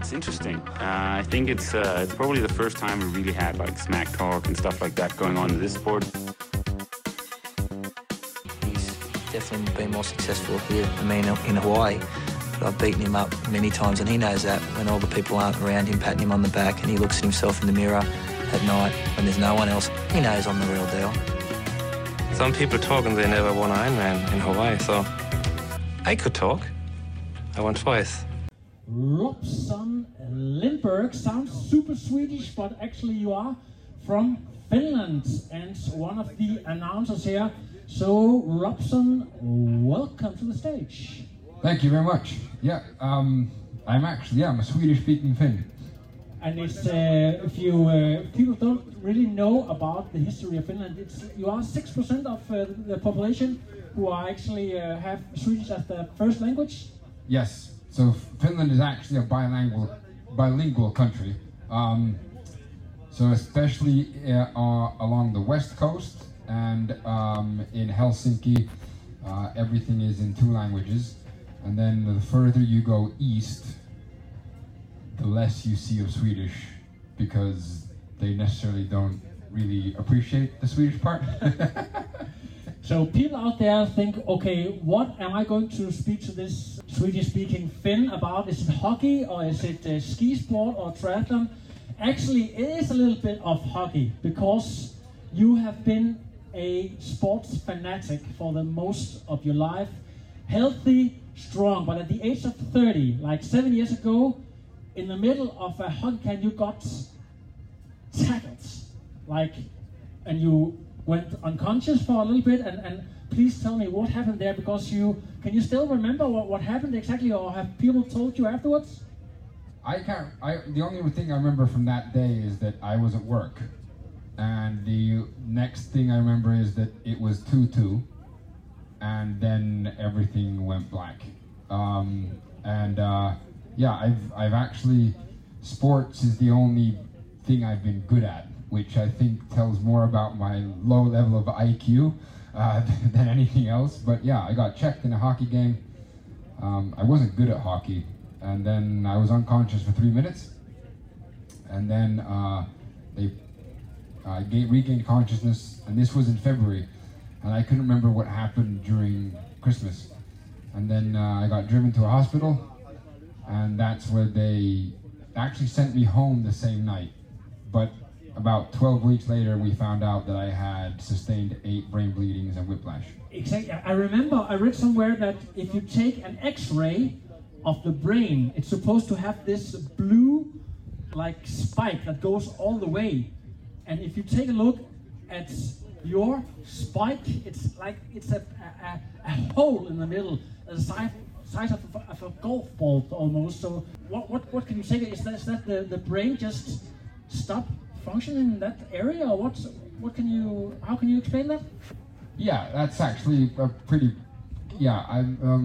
it's interesting. I think it's probably the first time we really had like smack talk and stuff like that going on in this sport. He's definitely been more successful here than me in Hawaii. But I've beaten him up many times, and he knows that when all the people aren't around him patting him on the back and he looks at himself in the mirror at night when there's no one else, he knows I'm the real deal. Some people talk and they never won Ironman in Hawaii, so I could talk. I won twice. Robson Lindberg sounds super Swedish, but actually you are from Finland and one of the announcers here. So Robson, welcome to the stage. Thank you very much. Yeah, I'm a Swedish-speaking Finn. And it's if you people don't really know about the history of Finland, you are 6% of the population who are actually have Swedish as their first language. Yes. So Finland is actually a bilingual country. So especially along the west coast and in Helsinki, everything is in 2 languages. And then the further you go east, the less you see of Swedish, because they necessarily don't really appreciate the Swedish part. So people out there think, okay, what am I going to speak to this Swedish-speaking Finn about? Is it hockey, or is it ski sport or triathlon? Actually, it is a little bit of hockey, because you have been a sports fanatic for the most of your life. Healthy, strong, but at the age of 30, like 7 years ago, in the middle of a hockey camp, you got tackled, and you went unconscious for a little bit, and please tell me what happened there, because can you still remember what happened exactly, or have people told you afterwards? The only thing I remember from that day is that I was at work, and the next thing I remember is that it was 2-2, and then everything went black. I've actually, sports is the only thing I've been good at, which I think tells more about my low level of IQ than anything else. But yeah, I got checked in a hockey game. I wasn't good at hockey, and then I was unconscious for 3 minutes, and then I regained consciousness, and this was in February, and I couldn't remember what happened during Christmas. And then I got driven to a hospital, and that's where they actually sent me home the same night. But about 12 weeks later, we found out that I had sustained 8 brain bleedings and whiplash. Exactly. I remember I read somewhere that if you take an X-ray of the brain, it's supposed to have this blue spike that goes all the way. And if you take a look at your spike, it's a hole in the middle, the size of a golf ball almost. So what can you say? Is that the brain just stopped functioning in that area, or how can you explain that? Yeah, that's actually a pretty. Yeah,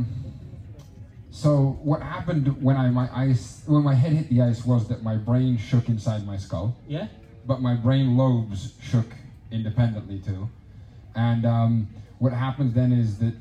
so what happened when my head hit the ice was that my brain shook inside my skull. Yeah. But my brain lobes shook independently too, and what happens then is that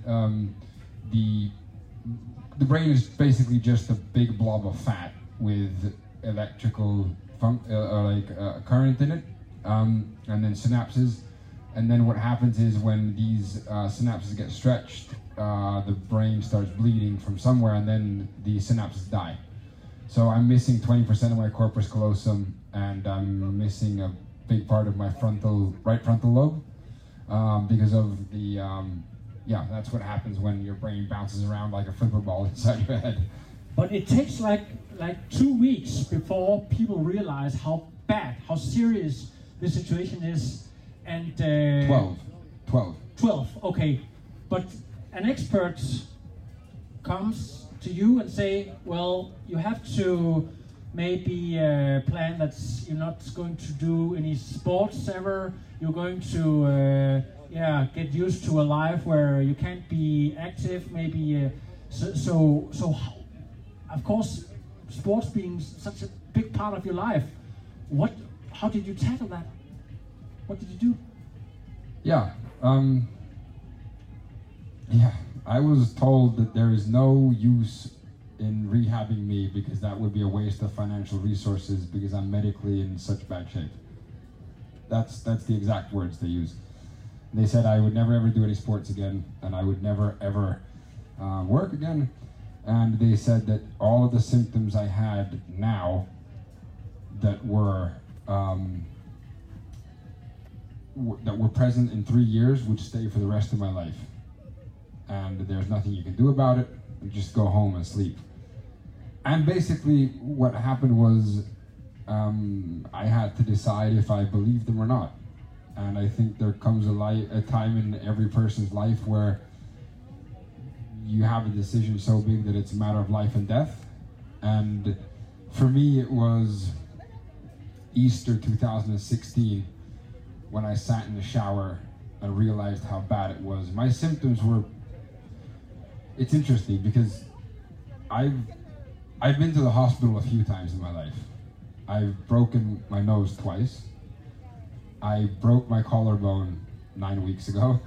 the brain is basically just a big blob of fat with electrical current in it, and then synapses. And then what happens is when these synapses get stretched, the brain starts bleeding from somewhere, and then the synapses die. So I'm missing 20% of my corpus callosum, and I'm missing a big part of my right frontal lobe because of the, that's what happens when your brain bounces around like a flipper ball inside your head. But it takes like 2 weeks before people realize how bad, how serious the situation is. And 12, okay. But an expert comes to you and say, well, you have to maybe plan that you're not going to do any sports ever. You're going to get used to a life where you can't be active. Maybe so. Of course, sports being such a big part of your life. How did you tackle that? What did you do? Yeah. I was told that there is no use in rehabbing me because that would be a waste of financial resources because I'm medically in such bad shape. That's the exact words they use. They said I would never ever do any sports again, and I would never ever work again. And they said that all of the symptoms I had now that were present in 3 years would stay for the rest of my life. And there's nothing you can do about it. You just go home and sleep. And basically what happened was I had to decide if I believed them or not. And I think there comes a time in every person's life where you have a decision so big that it's a matter of life and death. And for me, it was Easter 2016 when I sat in the shower and realized how bad it was. My symptoms were, it's interesting because I've been to the hospital a few times in my life. I've broken my nose twice. I broke my collarbone 9 weeks ago.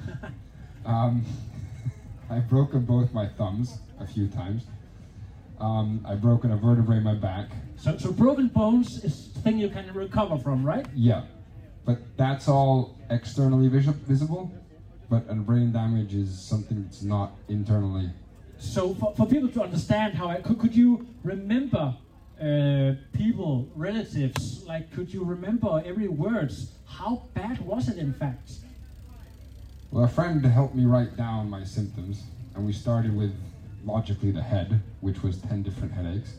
I've broken both my thumbs a few times. I've broken a vertebrae in my back. So broken bones is a thing you can recover from, right? Yeah, but that's all externally visible, but brain damage is something that's not internally. So for people to understand how, could you remember people, relatives, like could you remember every word? How bad was it in fact? Well, a friend helped me write down my symptoms, and we started with, logically, the head, which was 10 different headaches.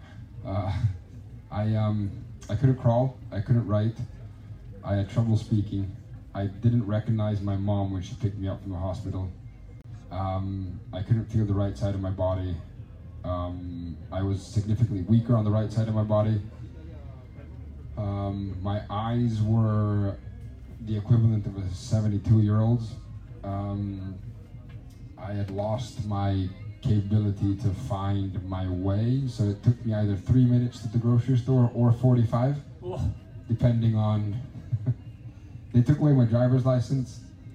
I couldn't crawl, I couldn't write, I had trouble speaking, I didn't recognize my mom when she picked me up from the hospital. I couldn't feel the right side of my body. I was significantly weaker on the right side of my body. My eyes were the equivalent of a 72-year-old's. I had lost my capability to find my way, so it took me either 3 minutes to the grocery store or 45, depending on. They took away my driver's license.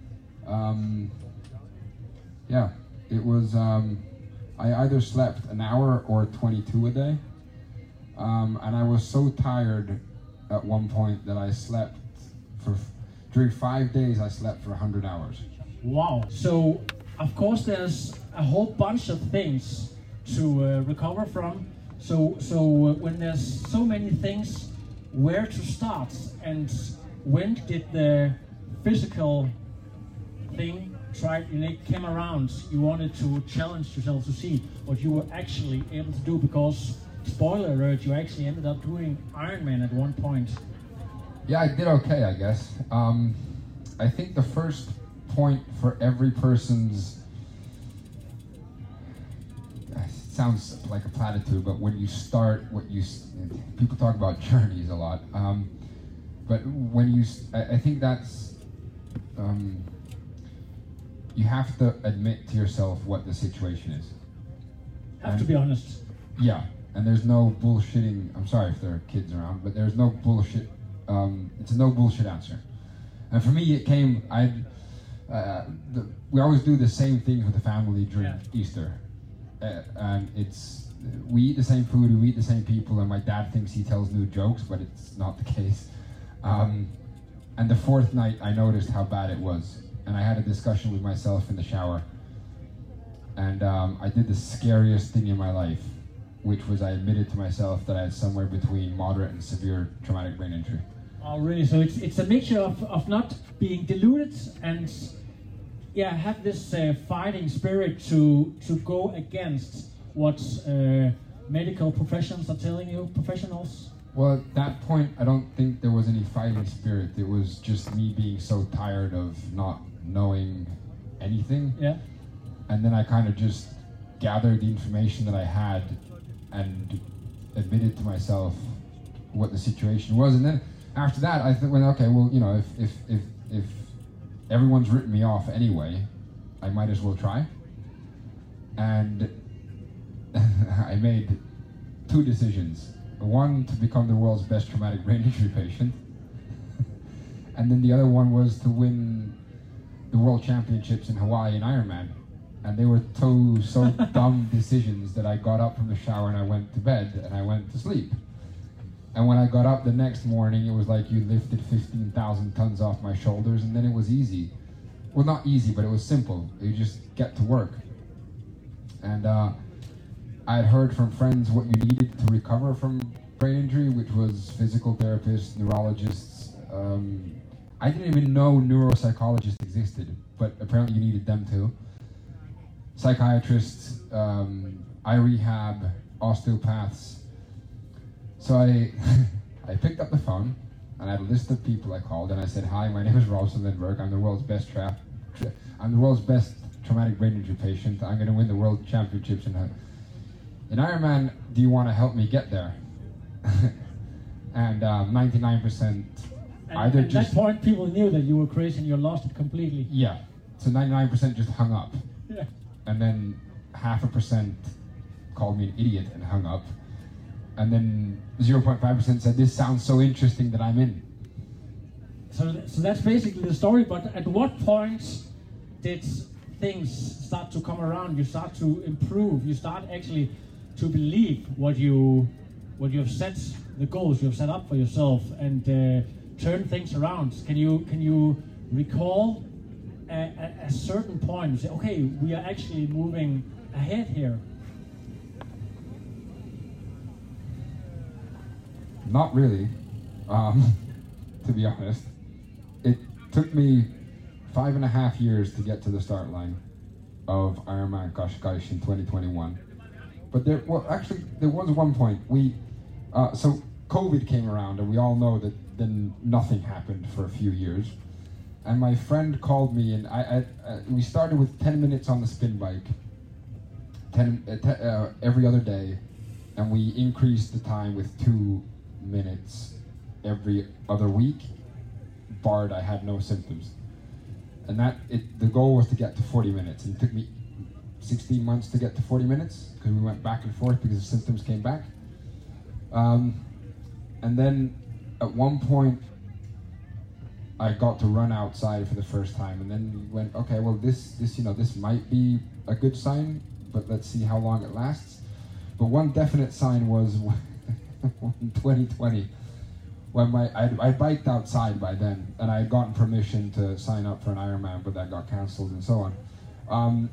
Yeah, it was. I either slept an hour or 22 a day, and I was so tired at one point that I slept during 5 days. I slept for 100 hours. Wow. So, of course, there's a whole bunch of things to recover from. So when there's so many things, where to start? And when did the physical thing came around? You wanted to challenge yourself to see what you were actually able to do, because, spoiler alert, you actually ended up doing Ironman at one point. Yeah, I did okay, I guess. I think the first point for every person's, it sounds like a platitude, but when you start, people talk about journeys a lot, but when I think that's, you have to admit to yourself what the situation is. Have to be honest. Yeah, and there's no bullshitting. I'm sorry if there are kids around, but there's no bullshit. It's a no bullshit answer. And for me, it came. We always do the same things with the family during Easter, and we eat the same food, we eat the same people, and my dad thinks he tells new jokes, but it's not the case. And the fourth night, I noticed how bad it was. And I had a discussion with myself in the shower, and I did the scariest thing in my life, which was I admitted to myself that I had somewhere between moderate and severe traumatic brain injury. Oh, really? So it's a mixture of not being deluded and have this fighting spirit to go against what medical professions are telling you, professionals? Well, at that point, I don't think there was any fighting spirit. It was just me being so tired of not knowing anything. Yeah. And then I kind of just gathered the information that I had and admitted to myself what the situation was. And then after that, I thought, well, okay, well, you know, if everyone's written me off anyway, I might as well try. And I made two decisions. One, to become the world's best traumatic brain injury patient. And then the other one was to win the World Championships in Hawaii in Ironman. And they were so dumb decisions that I got up from the shower and I went to bed and I went to sleep. And when I got up the next morning, it was like you lifted 15,000 tons off my shoulders, and then it was easy. Well, not easy, but it was simple. You just get to work. And I had heard from friends what you needed to recover from brain injury, which was physical therapists, neurologists. I didn't even know neuropsychologists existed, but apparently you needed them too. Psychiatrists, eye rehab, osteopaths. So I picked up the phone and I had a list of people I called and I said, "Hi, my name is Rolfsson Lindberg. I'm the world's best traumatic brain injury patient. I'm going to win the world championships in Ironman. Do you want to help me get there?" And 99% either at just... that point, people knew that you were crazy and you lost it completely. Yeah. So 99% just hung up. Yeah. And then 0.5% called me an idiot and hung up. And then 0.5% said, "This sounds so interesting that I'm in." So that's basically the story, but at what point did things start to come around? You start to improve, you start actually to believe what you have set, the goals you have set up for yourself, and turn things around. Can you recall a certain point and say, okay, we are actually moving ahead here? Not really, to be honest. It took me 5.5 years to get to the start line of Ironman Qashqai in 2021. But there was one point. So COVID came around, and we all know that then nothing happened for a few years. And my friend called me, and we started with 10 minutes on the spin bike, every other day, and we increased the time with 2 minutes every other week, barred I had no symptoms. And the goal was to get to 40 minutes, and it took me 16 months to get to 40 minutes because we went back and forth because the symptoms came back. And then at one point I got to run outside for the first time, and then we went, okay, well this might be a good sign, but let's see how long it lasts. But one definite sign was in 2020, when I biked outside by then, and I had gotten permission to sign up for an Ironman, but that got cancelled and so on.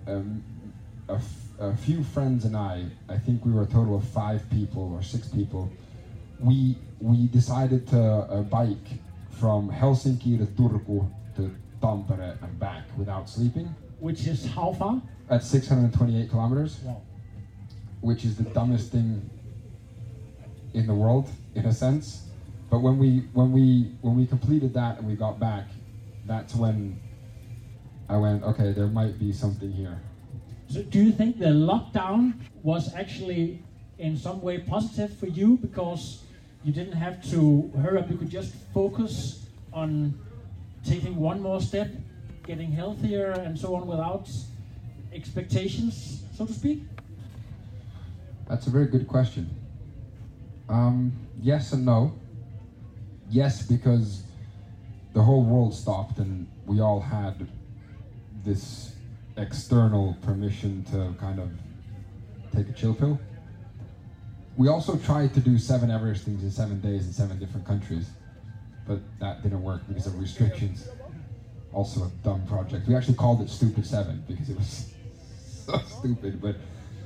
A few friends and I think we were a total of 5 people or 6 people. We decided to bike from Helsinki to Turku to Tampere and back without sleeping. Which is how far? At 628 kilometers. Wow. Which is the dumbest thing in the world, in a sense. But when we completed that and we got back, that's when I went, okay, there might be something here. So do you think the lockdown was actually in some way positive for you, because you didn't have to hurry up, you could just focus on taking one more step, getting healthier and so on without expectations, so to speak? That's a very good question. Yes and no. Yes, because the whole world stopped and we all had this external permission to kind of take a chill pill. We also tried to do 7 Everestings in 7 days in 7 different countries, but that didn't work because of restrictions. Also a dumb project. We actually called it Stupid 7 because it was so stupid, but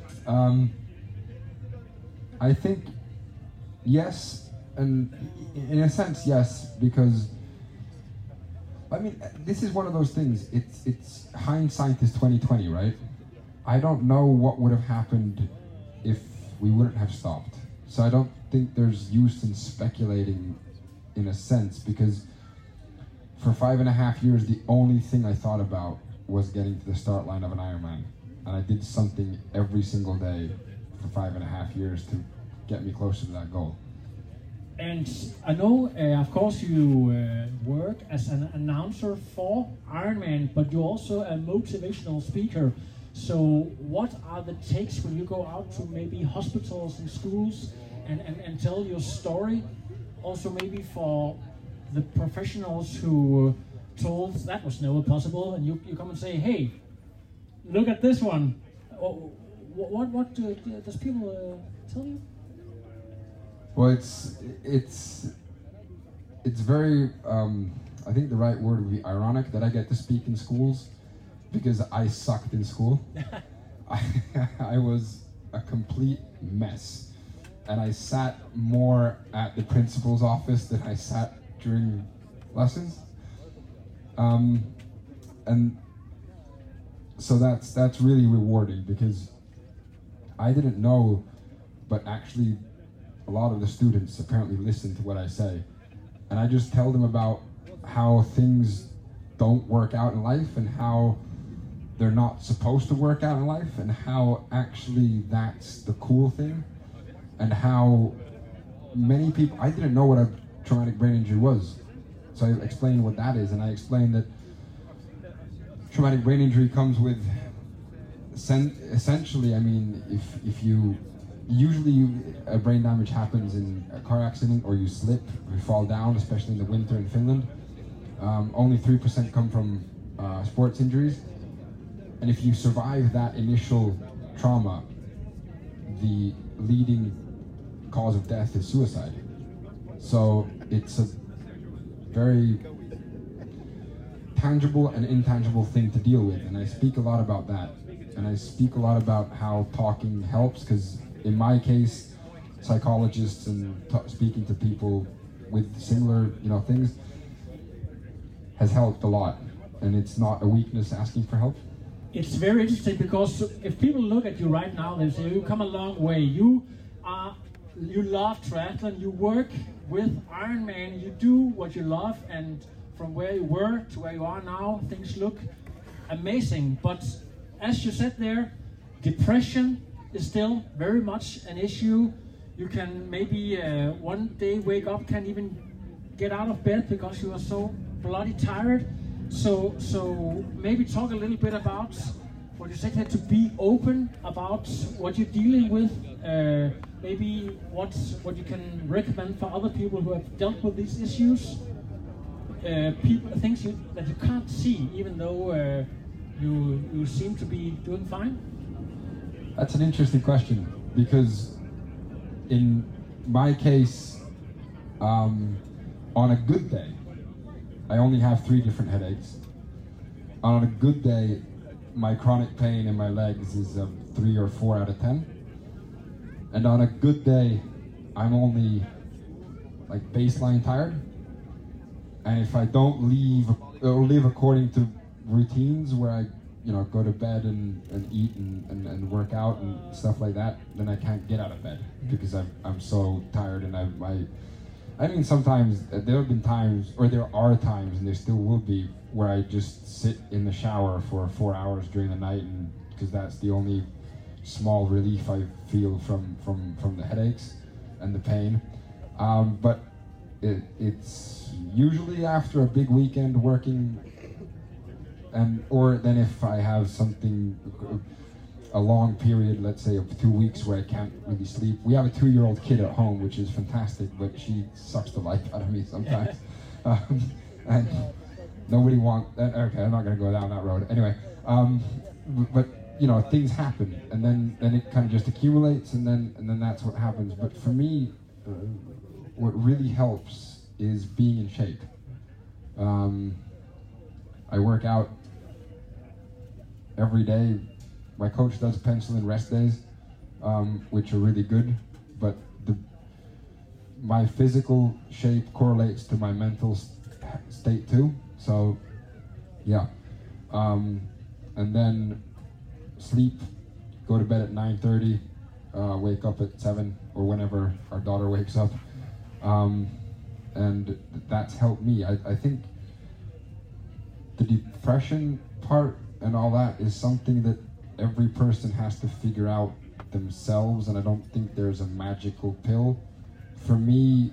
I think yes, and in a sense yes, because I mean, this is one of those things, it's hindsight is 2020, right? I don't know what would have happened if we wouldn't have stopped. So I don't think there's use in speculating in a sense, because for 5.5 years, the only thing I thought about was getting to the start line of an Ironman. And I did something every single day for 5.5 years to get me closer to that goal. And I know, of course, you work as an announcer for Ironman, but you're also a motivational speaker. So what are the takes when you go out to maybe hospitals and schools and tell your story? Also maybe for the professionals who told that was never possible, and you come and say, hey, look at this one. Oh, what does people tell you? Well, it's very. I think the right word would be ironic that I get to speak in schools because I sucked in school. I was a complete mess, and I sat more at the principal's office than I sat during lessons. And so that's really rewarding because I didn't know, but actually a lot of the students apparently listen to what I say, and I just tell them about how things don't work out in life and how they're not supposed to work out in life and how actually that's the cool thing, and how many people, I didn't know what a traumatic brain injury was, so I explained what that is, and I explained that traumatic brain injury comes with essentially, I mean, if you usually a brain damage happens in a car accident or you slip or you fall down, especially in the winter in Finland. Only 3% come from sports injuries, and if you survive that initial trauma, the leading cause of death is suicide. So it's a very tangible and intangible thing to deal with, and I speak a lot about that, and I speak a lot about how talking helps, because in my case, psychologists and speaking to people with similar things has helped a lot, and it's not a weakness asking for help. It's very interesting because if people look at you right now, they say you come a long way. You love triathlon, you work with Ironman, you do what you love, and from where you were to where you are now, things look amazing. But as you said there, depression is still very much an issue. You can maybe one day wake up, can't even get out of bed because you are so bloody tired. So maybe talk a little bit about what you said here, to be open about what you're dealing with. Maybe what you can recommend for other people who have dealt with these issues. Things that you can't see, even though you seem to be doing fine. That's an interesting question, because in my case, on a good day, I only have 3 different headaches. On a good day, my chronic pain in my legs is a 3 or 4 out of 10. And on a good day, I'm only like baseline tired. And if I don't live according to routines where I go to bed and eat and work out and stuff like that, then I can't get out of bed because I'm so tired. And I mean, sometimes there have been times, or there are times, and there still will be, where I just sit in the shower for 4 hours during the night, and because that's the only small relief I feel from the headaches and the pain. But it's usually after a big weekend working, or then if I have something, a long period, let's say of 2 weeks where I can't really sleep. We have a 2-year-old kid at home, which is fantastic, but she sucks the life out of me sometimes. And nobody wants that. Okay, I'm not going to go down that road. Anyway, but things happen, and then it kind of just accumulates, and then that's what happens. But for me, what really helps is being in shape. I work out every day. My coach does pencil in rest days, which are really good, but my physical shape correlates to my mental state too. So, yeah. And then sleep, go to bed at 9:30, wake up at 7 or whenever our daughter wakes up. And that's helped me. I think the depression part and all that is something that every person has to figure out themselves, and I don't think there's a magical pill. For me,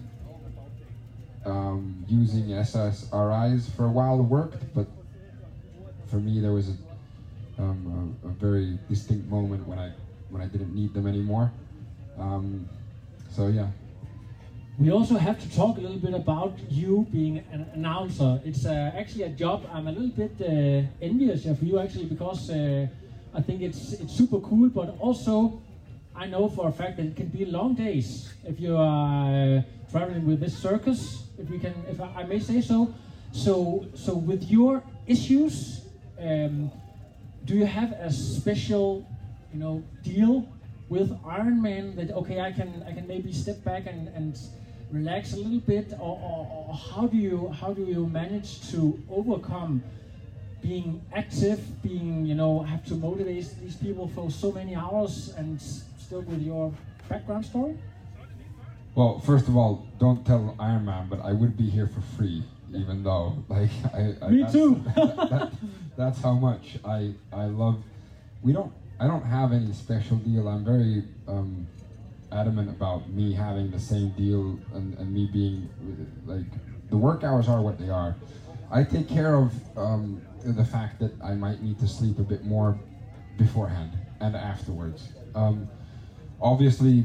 using SSRIs for a while worked, but for me there was a very distinct moment when I didn't need them anymore. So yeah. We also have to talk a little bit about you being an announcer. It's actually a job I'm a little bit envious of you, actually, because I think it's super cool, but also I know for a fact that it can be long days if you are traveling with this circus, if I may say so. So with your issues, do you have a special, deal with Ironman that I can maybe step back and relax a little bit, or how do you manage to overcome being active, have to motivate these people for so many hours, and still with your background story? Well, first of all, don't tell Ironman, but I would be here for free, even though, Me too. That's how much I love. I don't have any special deal. I'm very adamant about me having the same deal and me being the work hours are what they are. I take care of the fact that I might need to sleep a bit more beforehand and afterwards. Obviously,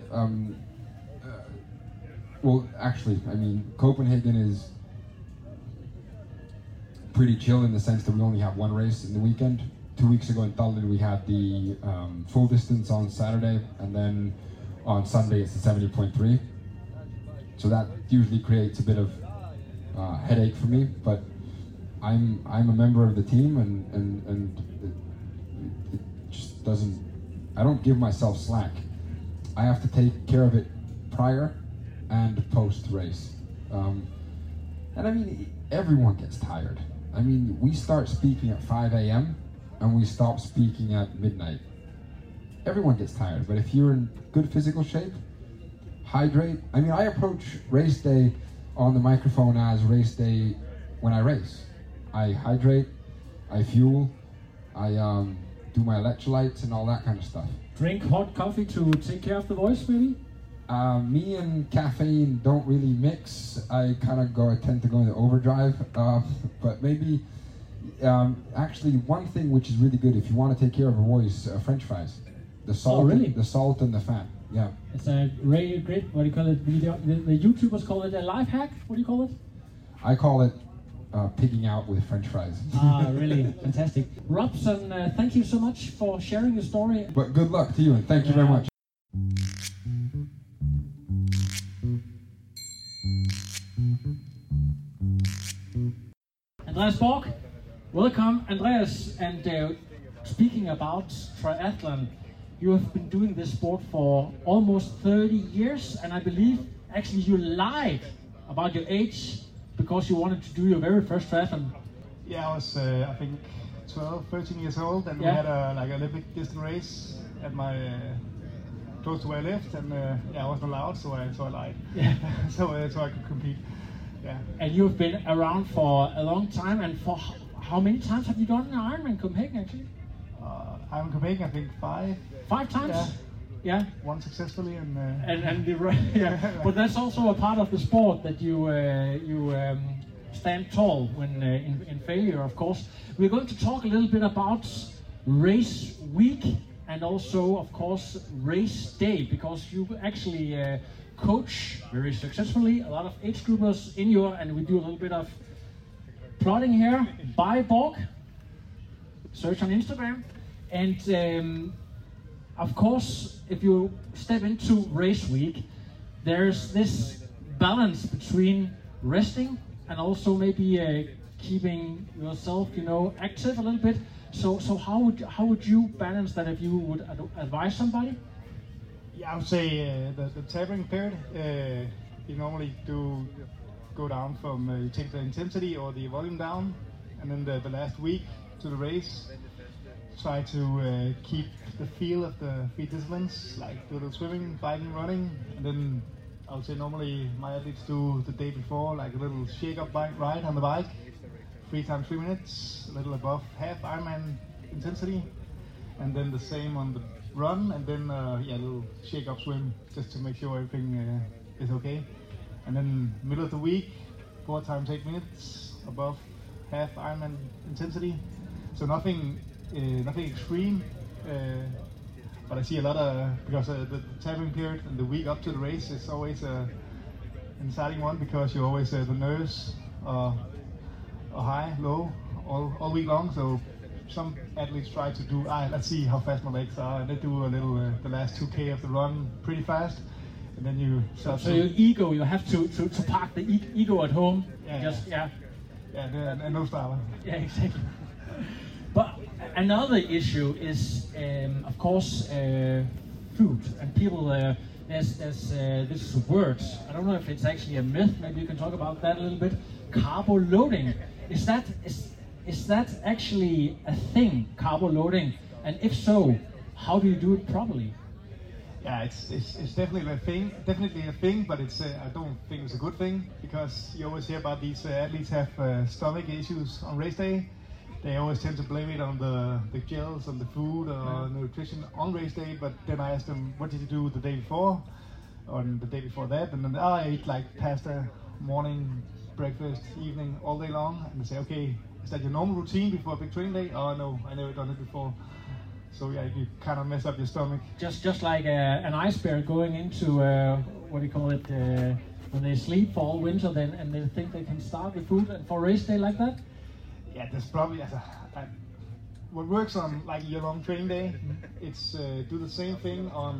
Copenhagen is pretty chill in the sense that we only have one race in the weekend. 2 weeks ago in Tallinn we had the full distance on Saturday, and then on Sunday it's the 70.3. So that usually creates a bit of headache for me, but I'm a member of the team, and it just doesn't. I don't give myself slack. I have to take care of it prior and post race, and I mean everyone gets tired. I mean, we start speaking at 5 a.m. and we stop speaking at midnight. Everyone gets tired, but if you're in good physical shape, hydrate. I mean, I approach race day on the microphone as race day when I race. I hydrate, I fuel, I do my electrolytes and all that kind of stuff. Drink hot coffee to take care of the voice, maybe? Me and caffeine don't really mix. I tend to go into overdrive, but maybe, actually one thing which is really good if you want to take care of a voice, French fries. The salt, oh, really? The salt and the fat, yeah. It's a really great, what do you call it, the YouTubers call it a life hack, what do you call it? I call it pigging out with French fries. Ah, really, fantastic. Robson, thank you so much for sharing your story. But good luck to you, and thank you very much. Andreas Borg, welcome, Andreas. And speaking about triathlon, you have been doing this sport for almost 30 years, and I believe actually you lied about your age because you wanted to do your very first triathlon. Yeah, I was I think 12, 13 years old, and we had a Olympic distance race at my close to where I lived, and I wasn't allowed, so I lied. Yeah. so I could compete. Yeah. And you've been around for a long time, and for how many times have you done Ironman Copenhagen actually? Ironman Copenhagen, I think 5. 5 times? Yeah. One successfully, and But that's also a part of the sport that you stand tall when in failure, of course. We're going to talk a little bit about race week and also, of course, race day, because you actually coach very successfully a lot of age groupers in your, and we do a little bit of plotting here by Borg. Search on Instagram, and of course, if you step into race week, there's this balance between resting and also maybe keeping yourself, active a little bit. So how would you balance that if you would advise somebody? Yeah, I would say the tapering period. You normally do go down from you take the intensity or the volume down, and then the last week to the race, try to keep the feel of the 3 disciplines, like do the swimming, biking, running, and then I would say normally my athletes do the day before like a little shake-up bike ride on the bike, 3 times 3 minutes, a little above half Ironman intensity, and then the same on the run, and then a little shake-up swim just to make sure everything is okay. And then middle of the week, 4 times 8 minutes above half Ironman intensity. So nothing extreme, but I see a lot of, because the tapering period and the week up to the race is always an exciting one, because you're always the nerves are high, low all week long. So some athletes try to do, let's see how fast my legs are, and they do a little, the last 2K of the run pretty fast, and then you start So your ego, you have to park the ego at home. Yeah, and no starter. Yeah, exactly. But another issue is, of course, food, and people. There's this word. I don't know if it's actually a myth. Maybe you can talk about that a little bit. Carbo loading. Is that actually a thing? Carbo loading, and if so, how do you do it properly? Yeah, it's definitely a thing, but it's I don't think it's a good thing, because you always hear about these athletes have stomach issues on race day. They always tend to blame it on the gels, on the food, or nutrition on race day. But then I ask them, what did you do the day before, or the day before that? And then I ate like pasta, morning, breakfast, evening, all day long. And they say, okay, is that your normal routine before a big training day? Oh no, I never done it before. So yeah, you kind of mess up your stomach. Just like an ice bear going into what do you call it, when they sleep for all winter, then and they think they can start with food for race day like that. Yeah, there's probably what works on like your long training day. It's do the same thing on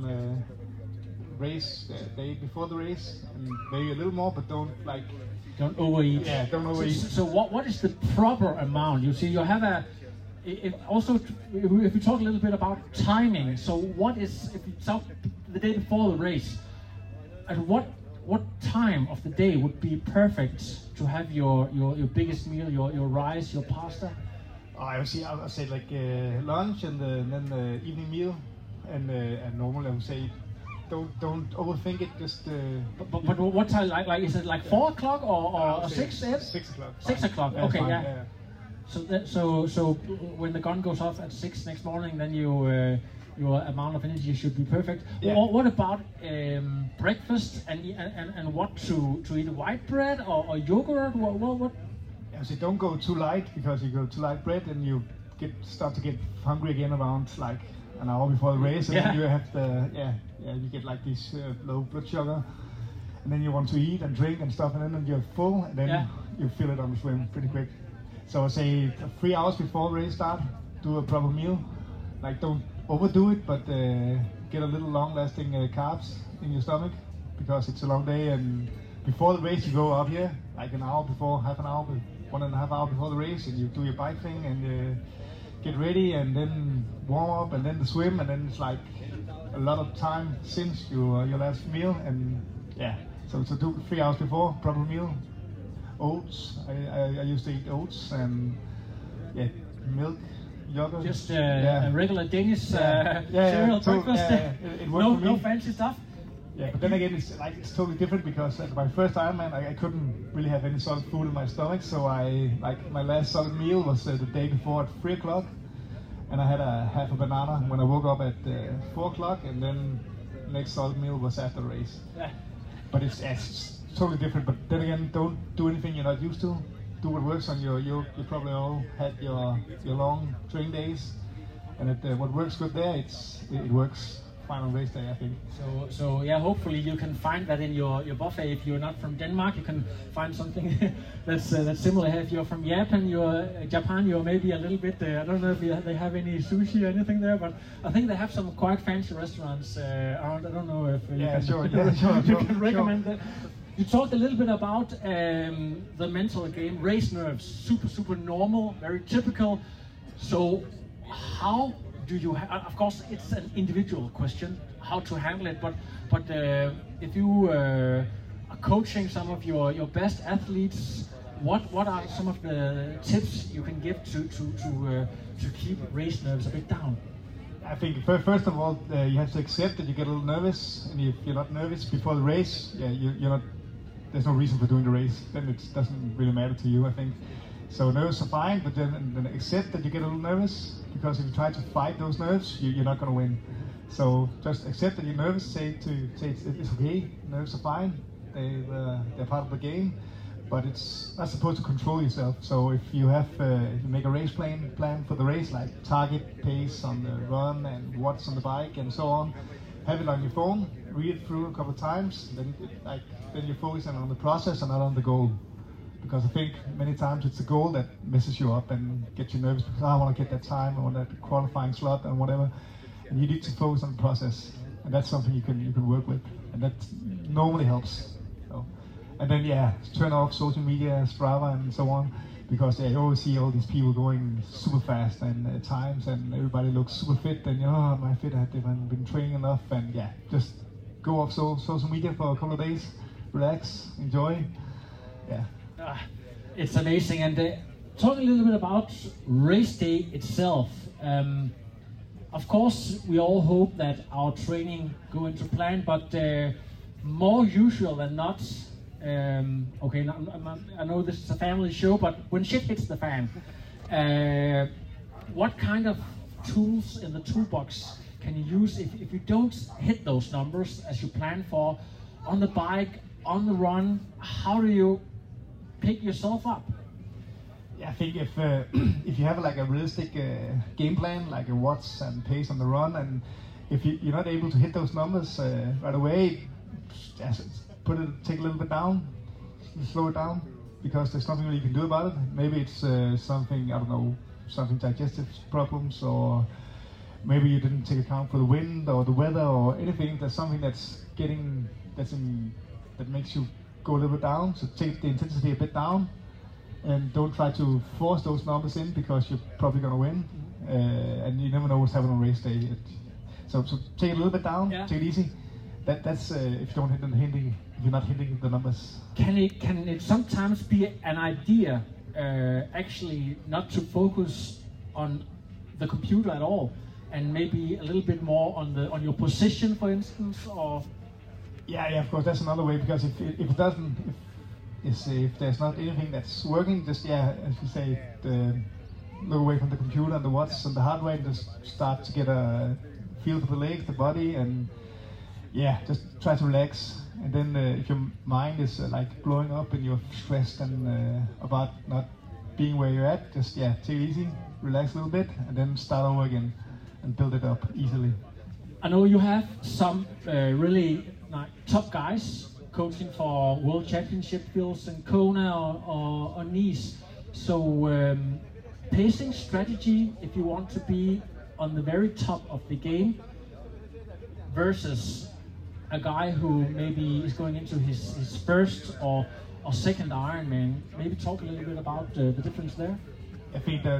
race day before the race, and maybe a little more, but don't overeat. Yeah, don't overeat. So what is the proper amount? You see, you have also, if we talk a little bit about timing, so what is, if you talk the day before the race, at what time of the day would be perfect to have your biggest meal, your rice, your pasta? I would say like lunch and then the evening meal, and normally I would say don't overthink it. Just but what time? Like is it like 4 o'clock or 6? 6 o'clock. 6 o'clock. Yeah, okay, fine, yeah. So when the gun goes off at 6 next morning, then your amount of energy should be perfect. Yeah. What about breakfast and what to eat? White bread or yogurt? What? Yeah, so don't go too light, because you go too light bread and you start to get hungry again around like an hour before the race, and then you have you get like this low blood sugar, and then you want to eat and drink and stuff, and then you're full, and then you feel it on the swim pretty quick. So I say 3 hours before the race start, do a proper meal. Like don't overdo it, but get a little long-lasting carbs in your stomach, because it's a long day. And before the race, you go up here like an hour before, half an hour, 1.5 hours before the race, and you do your bike thing and get ready, and then warm up, and then the swim, and then it's like a lot of time since your last meal. And yeah, so do 3 hours before, proper meal. Oats. I used to eat oats and milk, yogurt. Just a regular Danish cereal breakfast. It worked for me. No fancy stuff. Yeah, but then again, it's totally different, because at my first Ironman, I couldn't really have any solid food in my stomach. So my last solid meal was the day before at 3 o'clock, and I had half a banana when I woke up at 4 o'clock, and then next solid meal was after the race. Yeah. But it's totally different. But then again, don't do anything you're not used to. Do what works on you probably all had your long training days, and what works good there, it works fine on race day, I think. So yeah, hopefully you can find that in your buffet. If you're not from Denmark, you can find something that's similar. If you're from Japan, you're maybe a little bit. I don't know if they have any sushi or anything there, but I think they have some quite fancy restaurants around. I don't know if you can recommend that. You talked a little bit about the mental game, race nerves, super normal, very typical. So how do you, of course it's an individual question, how to handle it, but if you are coaching some of your best athletes, what are some of the tips you can give to keep race nerves a bit down? I think first of all, you have to accept that you get a little nervous, and if you're not nervous before the race, you're not. There's no reason for doing the race. Then it doesn't really matter to you, I think. So nerves are fine, but then accept that you get a little nervous, because if you try to fight those nerves, you're not going to win. So just accept that you're nervous. Say it's okay. Nerves are fine. They're part of the game, but it's not supposed to control yourself. So if you make a race plan for the race, like target pace on the run and what's on the bike and so on, have it on your phone, read it through a couple of times, then you're focusing on the process and not on the goal. because I think many times it's the goal that messes you up and gets you nervous because I want to get that time, I want that qualifying slot and whatever. And you need to focus on the process, and that's something you can work with, and that normally helps. So, and then turn off social media, Strava, and so on, because you always see all these people going super fast and at times, and everybody looks super fit, and am I fit? I haven't been training enough, and just go off social media for a couple of days, relax, enjoy. It's amazing. And talk a little bit about race day itself. Of course, we all hope that our training go into plan, but more usual than not. I know this is a family show, but when shit hits the fan, what kind of tools in the toolbox can you use if you don't hit those numbers as you plan for on the bike, on the run? How do you pick yourself up? I think if you have like a realistic game plan, like a watts and pace on the run, and if you're not able to hit those numbers right away, take a little bit down, slow it down, because there's nothing really you can do about it. Maybe it's something, I don't know, something digestive problems, or maybe you didn't take account for the wind or the weather or anything. There's something that makes you go a little bit down. So take the intensity a bit down, and don't try to force those numbers in, because you're probably going to win, and you never know what's happening on race day. So take it a little bit down, take it easy. That's if you don't if you're not hitting the numbers. Can it sometimes be an idea actually not to focus on the computer at all, and maybe a little bit more on your position, for instance, or? Yeah, of course, that's another way, because if there's not anything that's working, just as you say, look away from the computer and the watts and the heart rate, just start to get a feel for the legs, the body, and just try to relax. And then if your mind is like blowing up and you're stressed and about not being where you're at, just take it easy, relax a little bit, and then start over again and build it up easily. I know you have some really top guys coaching for World Championship fields in Kona or Nice. So pacing strategy, if you want to be on the very top of the game, versus a guy who maybe is going into his first or second Ironman. Maybe talk a little bit about the difference there. I think that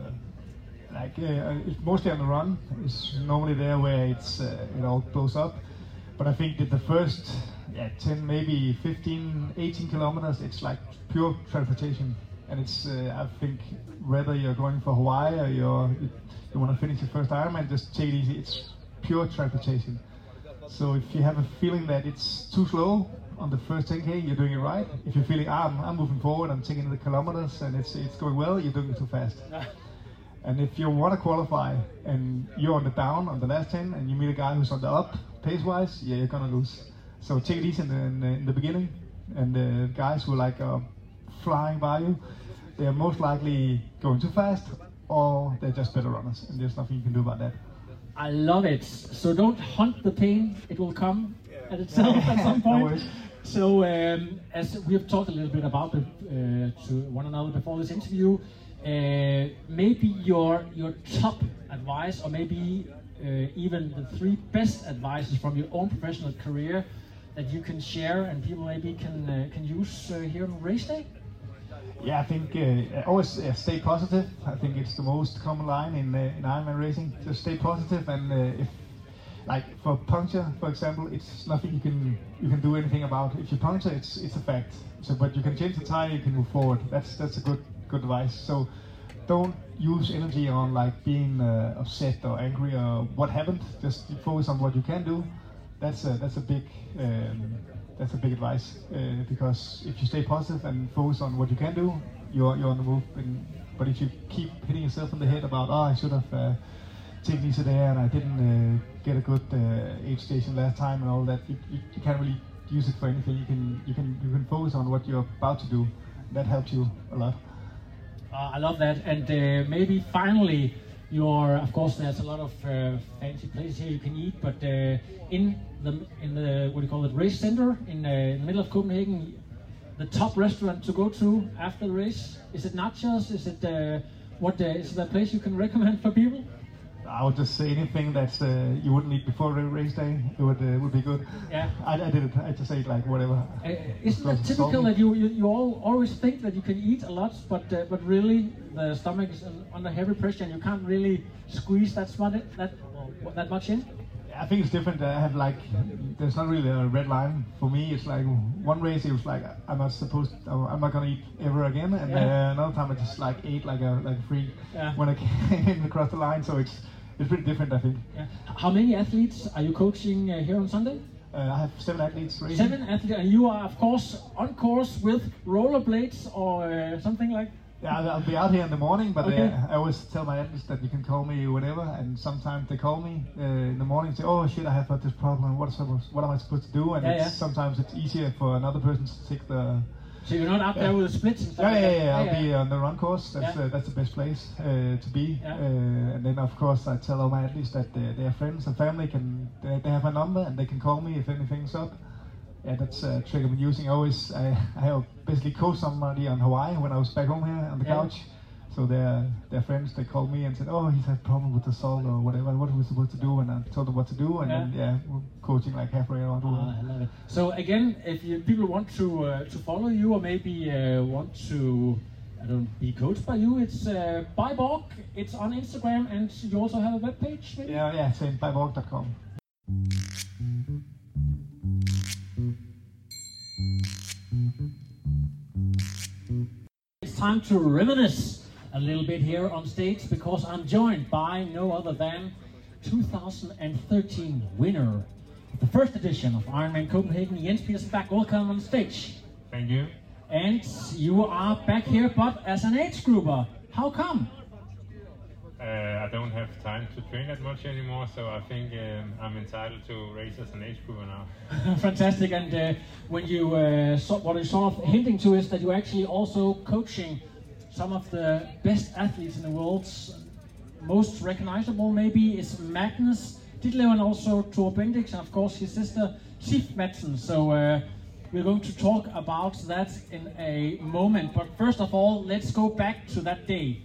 it's mostly on the run. It's normally there where it all blows up. But I think that the first 10, maybe 15, 18 kilometers, it's like pure transportation. And it's, I think, whether you're going for Hawaii or you want to finish your first Ironman, just take it easy. It's pure transportation. So if you have a feeling that it's too slow on the first 10K, you're doing it right. If you're feeling, I'm moving forward, I'm taking the kilometers and it's going well, you're doing it too fast. And if you want to qualify and you're on the down on the last 10 and you meet a guy who's on the up pace-wise, you're gonna lose. So take it easy in the beginning, and the guys who are flying by you, they're most likely going too fast, or they're just better runners, and there's nothing you can do about that. I love it. So don't hunt the pain; it will come at itself at some point. No. So as we have talked a little bit about to one another before this interview, maybe your top advice, or maybe even the 3 best advices from your own professional career that you can share and people maybe can use here on race day? Yeah, I think always stay positive. I think it's the most common line in Ironman racing. Just stay positive, and if, like for puncture, for example, it's nothing you can do anything about. If you puncture, it's a fact. So, but you can change the tire, you can move forward. That's a good advice. So, don't use energy on being upset or angry or what happened. Just focus on what you can do. That's a big advice, because if you stay positive and focus on what you can do, you're on the move. But if you keep hitting yourself in the head about, I should have taken easy there and I didn't get a good aid station last time and all that, you can't really use it for anything. You can focus on what you're about to do. That helps you a lot. I love that. And maybe finally, of course, there's a lot of fancy places here you can eat, but in the what do you call it, race center in the middle of Copenhagen, the top restaurant to go to after the race? Is it nachos? Is it is there a place you can recommend for people? I would just say anything that you wouldn't eat before the race day. It would be good. Yeah. I did it. I just ate like whatever. Isn't it typical that you all always think that you can eat a lot, but really the stomach is under heavy pressure and you can't really squeeze that much in? I think it's different. I have like, there's not really a red line for me. It's like one race it was like I'm not gonna eat ever again, and another time I just like ate like a freak when I came across the line. So it's pretty different, I think. Yeah. How many athletes are you coaching here on Sunday? I have 7 athletes racing. 7 athletes, and you are of course on course with rollerblades or something like. Yeah, I'll be out here in the morning, but I always tell my athletes that you can call me whenever, and sometimes they call me in the morning and say, oh shit, I have got this problem, what am I supposed to do? And sometimes it's easier for another person to take the... So you're not out there with the splits and stuff? I'll be on the run course, that's the best place to be. And then of course I tell all my athletes that their friends and family they have my number and they can call me if anything's up. Yeah, that's a trick I've been using. I have basically coached somebody on Hawaii when I was back home here on the couch. So their friends, they called me and said, oh, he's had a problem with the salt or whatever, what are we supposed to do? And I told them what to do, and then we're coaching like halfway around the world. I love it. So again, if people want to follow you or maybe want to be coached by you, it's Byborg, it's on Instagram, and you also have a webpage maybe? Yeah, same, byborg.com. It's time to reminisce a little bit here on stage because I'm joined by no other than 2013 winner of the first edition of Ironman Copenhagen, Jens Petersen Bach. Welcome on stage. Thank you. And you are back here, but as an age grouper. How come? I don't have time to train that much anymore, so I think I'm entitled to race as an age grouper now. Fantastic. And when you what you're sort of hinting to is that you're actually also coaching some of the best athletes in the world. Most recognizable maybe is Magnus Ditlev and also Thor Bendix, and of course his sister Sif Madsen. So we're going to talk about that in a moment. But first of all, let's go back to that day.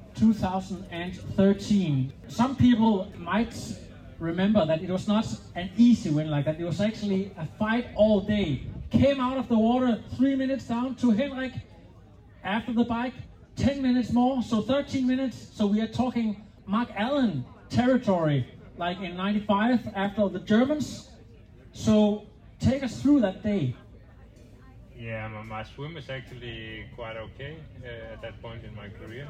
2013. Some people might remember that it was not an easy win like that. It was actually a fight all day. Came out of the water 3 minutes down to Henrik. After the bike, 10 minutes more, so 13 minutes. So we are talking Mark Allen territory, like in 95 after the Germans. So take us through that day. Yeah, my swim is actually quite okay at that point in my career.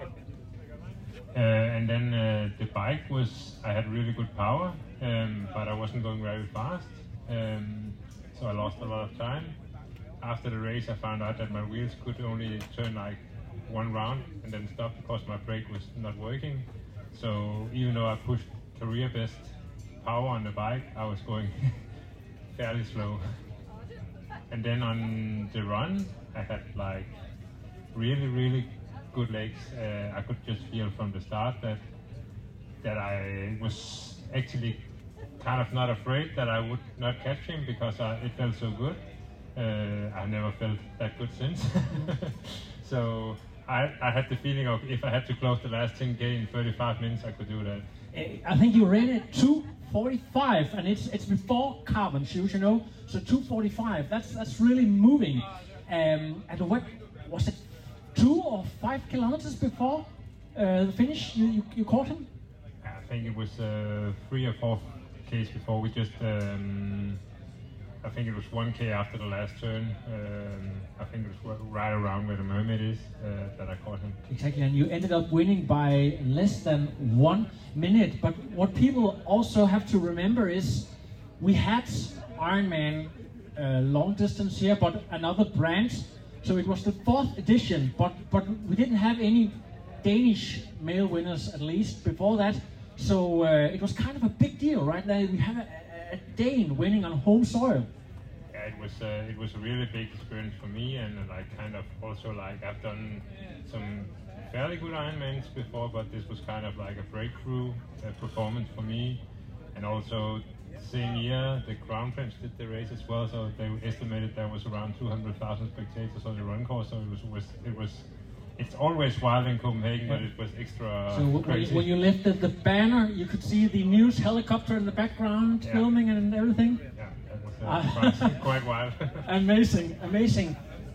And then the bike I had really good power, but I wasn't going very fast. So I lost a lot of time. After the race I found out that my wheels could only turn like one round and then stop because my brake was not working. So even though I pushed career best power on the bike, I was going fairly slow. And then on the run, I had like really good legs. I could just feel from the start that I was actually kind of not afraid that I would not catch him because it felt so good. I've never felt that good since. So I had the feeling of if I had to close the last 10K in 35 minutes, I could do that. I think you ran it 2:45, and it's before carbon shoes, you know. So 2:45. That's really moving. And what was it? 2 or 5 kilometers before the finish? You caught him? I think it was 3 or 4 Ks before. We just I think it was 1K after the last turn. I think it was right around where the Mermaid is that I caught him. Exactly, and you ended up winning by less than 1 minute. But what people also have to remember is we had Ironman long distance here, but another brand. So it was the 4th edition, but we didn't have any Danish male winners, at least before that. So it was kind of a big deal, right? Like we have a Dane winning on home soil. Yeah, it was a really big experience for me, and like kind of also like I've done some fairly good Ironmans before, but this was kind of like a breakthrough performance for me. And also same year, the Crown Prince did the race as well, so they estimated there was around 200,000 spectators on the run course. So it's always wild in Copenhagen, but it was extra crazy. When you lifted the banner, you could see the news helicopter in the background, filming and everything. Yeah, that was quite wild. Amazing, amazing.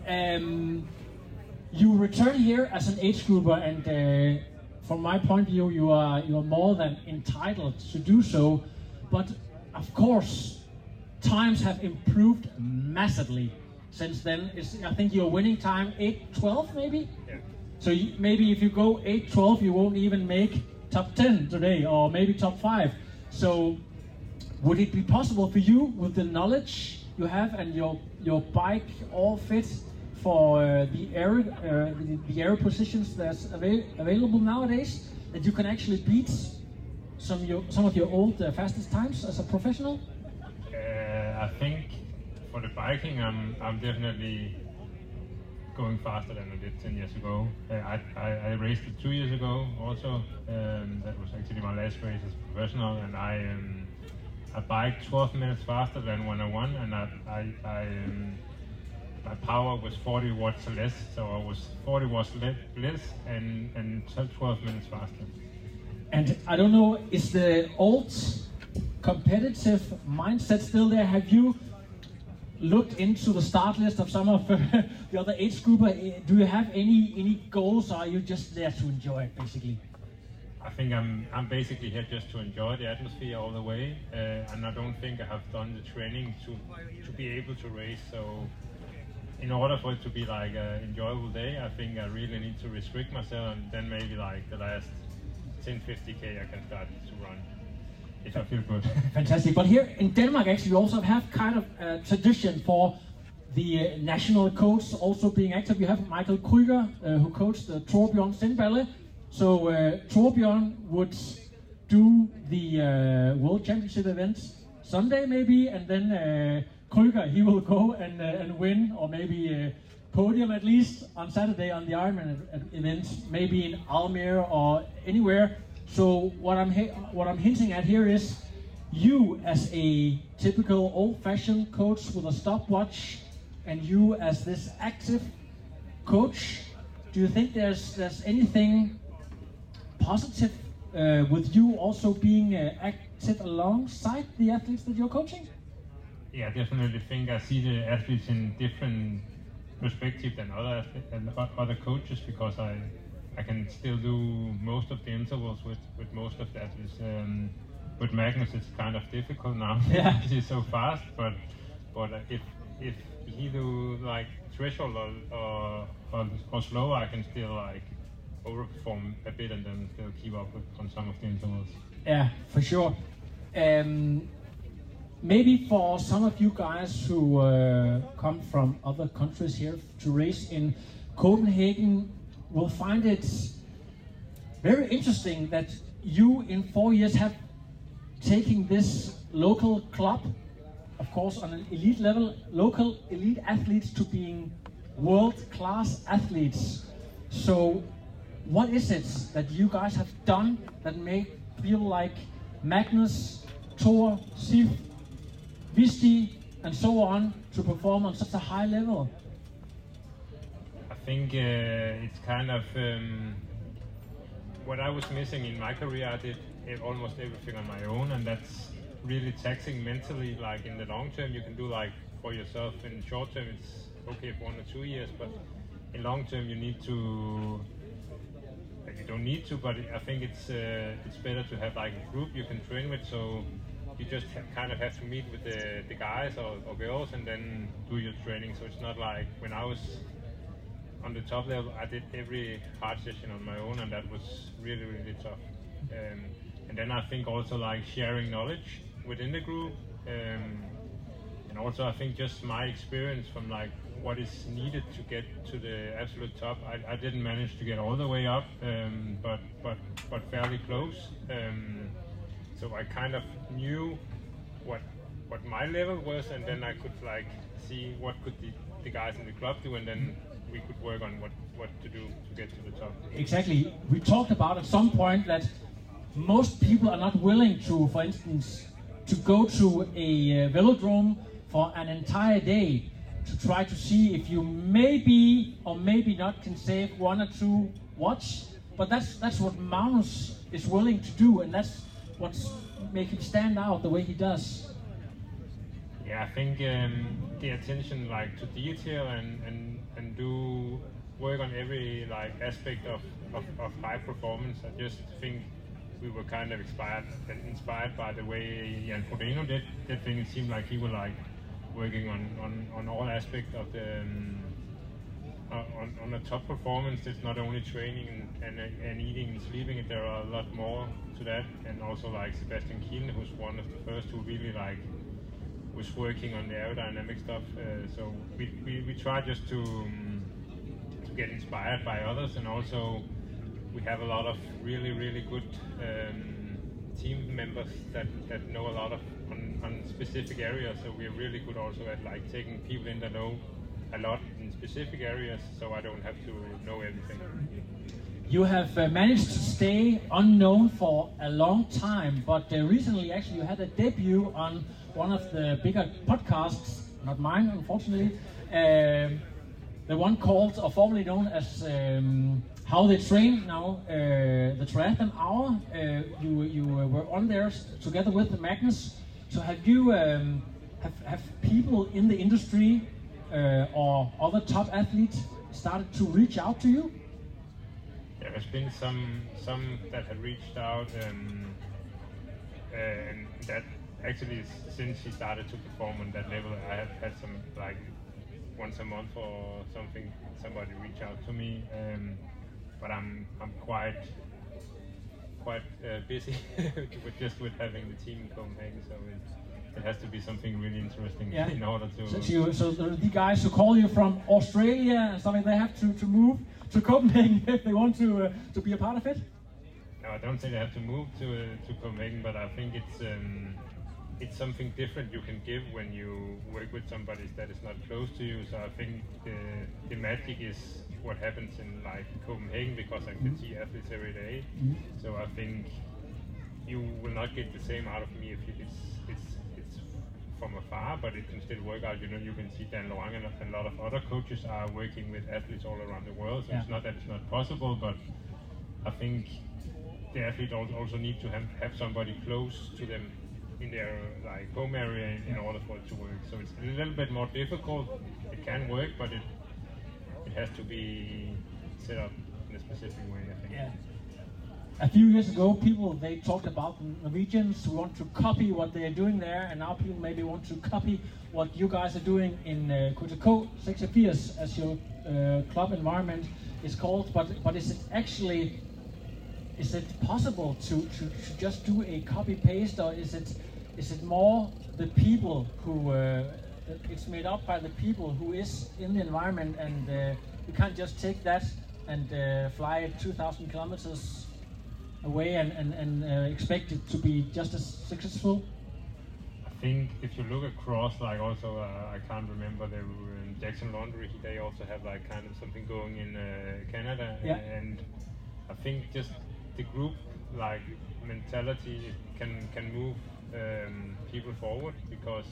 You return here as an age grouper, and from my point of view, you are more than entitled to do so. But of course, times have improved massively since then. I think your winning time 8:12 maybe. Yeah. So maybe if you go 8:12, you won't even make top 10 today, or maybe top 5. So would it be possible for you, with the knowledge you have and your bike all fit for the aero positions that's available nowadays, that you can actually beat some of your old fastest times as a professional? I think for the biking, I'm definitely going faster than I did 10 years ago. I raced it 2 years ago also. That was actually my last race as a professional, and I biked 12 minutes faster than when I won, and my power was 40 watts less, so I was 40 watts less and 12 minutes faster. And I don't know, is the old competitive mindset still there? Have you looked into the start list of some of the other age grouper? Do you have any goals, or are you just there to enjoy it, basically? I think I'm basically here just to enjoy the atmosphere all the way, and I don't think I have done the training to be able to race. So in order for it to be like an enjoyable day, I think I really need to restrict myself, and then maybe like the last 10-50k I can start to run if I feel good. Fantastic. But here in Denmark, actually, we also have kind of a tradition for the national coach also being active. You have Michael Krüger, who coached Torbjørn Sindballe. So Torbjørn would do the World Championship event Sunday maybe, and then Krüger, he will go and win, or maybe podium at least on Saturday on the Ironman event, maybe in Almere or anywhere. So what I'm hinting at here is, you as a typical old-fashioned coach with a stopwatch, and you as this active coach, do you think there's anything positive with you also being active alongside the athletes that you're coaching? Yeah, I definitely think I see the athletes in different perspective than other coaches, because I can still do most of the intervals with most of the athletes. With Magnus, it's kind of difficult now. Yeah. He's so fast, but if he do like threshold or slow, I can still like overperform a bit and then still keep up on some of the intervals. Yeah, for sure. Maybe for some of you guys who come from other countries here to race in Copenhagen, will find it very interesting that you in 4 years have taken this local club, of course on an elite level, local elite athletes, to being world-class athletes. So what is it that you guys have done that make feel like Magnus, Thor, Sif, Visti and so on to perform on such a high level? I think it's kind of what I was missing in my career. I did almost everything on my own, and that's really taxing mentally. Like in the long term, you can do like for yourself. In short term, it's okay for 1 or 2 years, but in long term, you need to. You don't need to, but I think it's better to have like a group you can train with. So you just kind of have to meet with the guys or girls and then do your training. So it's not like when I was on the top level, I did every hard session on my own, and that was really, really tough. And then I think also like sharing knowledge within the group, and also I think just my experience from like what is needed to get to the absolute top. I didn't manage to get all the way up, but fairly close. So I kind of knew what my level was, and then I could like see what could the guys in the club do, and then we could work on what to do to get to the top. Exactly. We talked about at some point that most people are not willing to, for instance, to go to a velodrome for an entire day to try to see if you maybe or maybe not can save 1 or 2 watts. But that's what Magnus is willing to do, and that's what's make him stand out the way he does. Yeah, I think the attention like to detail and do work on every like aspect of high performance. I just think we were kind of inspired by the way Jan Frodeno did that thing. It seemed like he was like working on all aspects of the on a top performance. It's not only training and eating and sleeping. There are a lot more to that, and also like Sebastian Kiel, who's one of the first who really like was working on the aerodynamic stuff. So we try just to get inspired by others, and also we have a lot of really good team members that know a lot on specific areas. So we're really good also at like taking people in that know a lot in specific areas, so I don't have to know everything. You have managed to stay unknown for a long time, but recently actually you had a debut on one of the bigger podcasts, not mine unfortunately, the one called or formerly known as How They Train Now, the Triathlon Hour. You were on there together with Magnus. So have you have people in the industry or other top athletes started to reach out to you? There has been some that have reached out, and that actually since he started to perform on that level, I have had some like once a month or something, somebody reach out to me. But I'm quite busy with having the team in Copenhagen, so it has to be something really interesting in order to. So the guys who call you from Australia and something, they have to move to Copenhagen if they want to be a part of it? No, I don't say they have to move to Copenhagen, but I think it's something different you can give when you work with somebody that is not close to you. So I think the magic is what happens in like Copenhagen, because I can see athletes every day. So I think you will not get the same out of me if it's from afar, but it can still work out. You know, you can see Dan Lorang and a lot of other coaches are working with athletes all around the world. So it's not that it's not possible, but I think the athlete also need to have somebody close to them in their like home area in order for it to work. So it's a little bit more difficult. It can work, but it has to be set up in a specific way, I think. Yeah. A few years ago, they talked about Norwegians who want to copy what they are doing there, and now people maybe want to copy what you guys are doing in KTK 86, as your club environment is called. But is it possible to just do a copy paste, or is it more the people who it's made up by the people who is in the environment, and you can't just take that and fly it 2,000 kilometers away and expect it to be just as successful? I think if you look across, like also I can't remember, they were in Jackson Laundry, they also have like kind of something going in Canada, and I think just the group like mentality can move people forward, because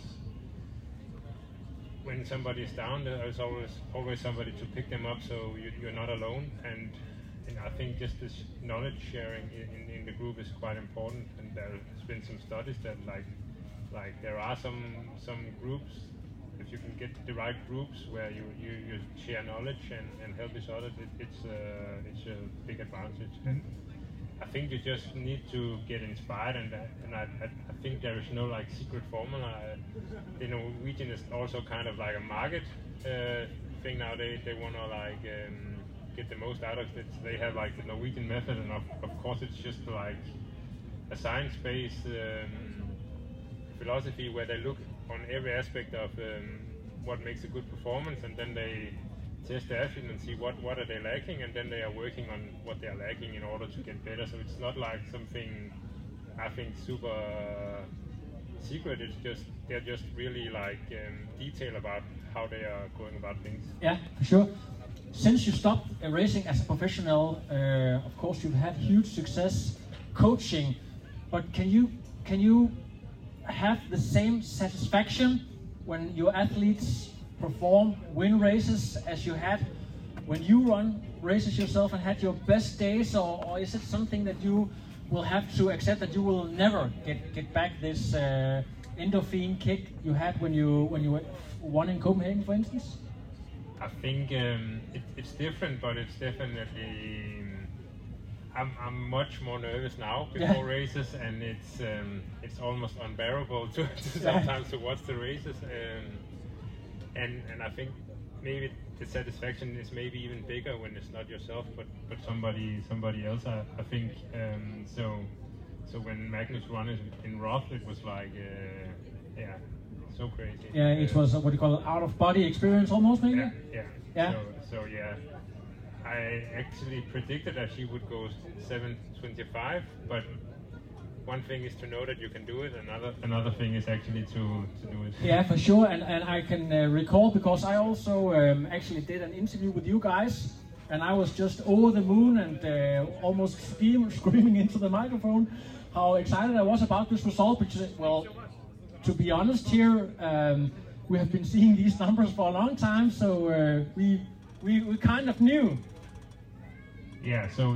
when somebody is down, there's always somebody to pick them up, so you're not alone. And I think just this knowledge sharing in the group is quite important. And there's been some studies that like there are some groups, if you can get the right groups where you share knowledge and help each other, it's a big advantage. And I think you just need to get inspired, and I think there is no like secret formula. The Norwegian is also kind of like a market thing nowadays. They want to like get the most out of it. They have like the Norwegian method, and of course it's just like a science-based philosophy where they look on every aspect of what makes a good performance, and then they test the athlete and see what are they lacking, and then they are working on what they are lacking in order to get better. So it's not like something I think super secret. It's just they're just really like detail about how they are going about things. Yeah, for sure. Since you stopped racing as a professional, of course you've had huge success coaching, but can you have the same satisfaction when your athletes perform, win races as you had when you run races yourself and had your best days, or is it something that you will have to accept that you will never get back this endorphin kick you had when you won in Copenhagen, for instance? I think it's different, but it's definitely. I'm much more nervous now before races, and it's almost unbearable to sometimes to watch the races. And I think maybe the satisfaction is maybe even bigger when it's not yourself, but somebody else. I think so. So when Magnus won in Roth, it was like so crazy. Yeah, it was what you call out of body experience almost, maybe. Yeah. So yeah, I actually predicted that she would go 7:25, but one thing is to know that you can do it, another thing is actually to do it. Yeah, for sure, and I can recall, because I also actually did an interview with you guys, and I was just over the moon and almost screaming into the microphone how excited I was about this result, because, well, to be honest here, we have been seeing these numbers for a long time, so we kind of knew. Yeah, so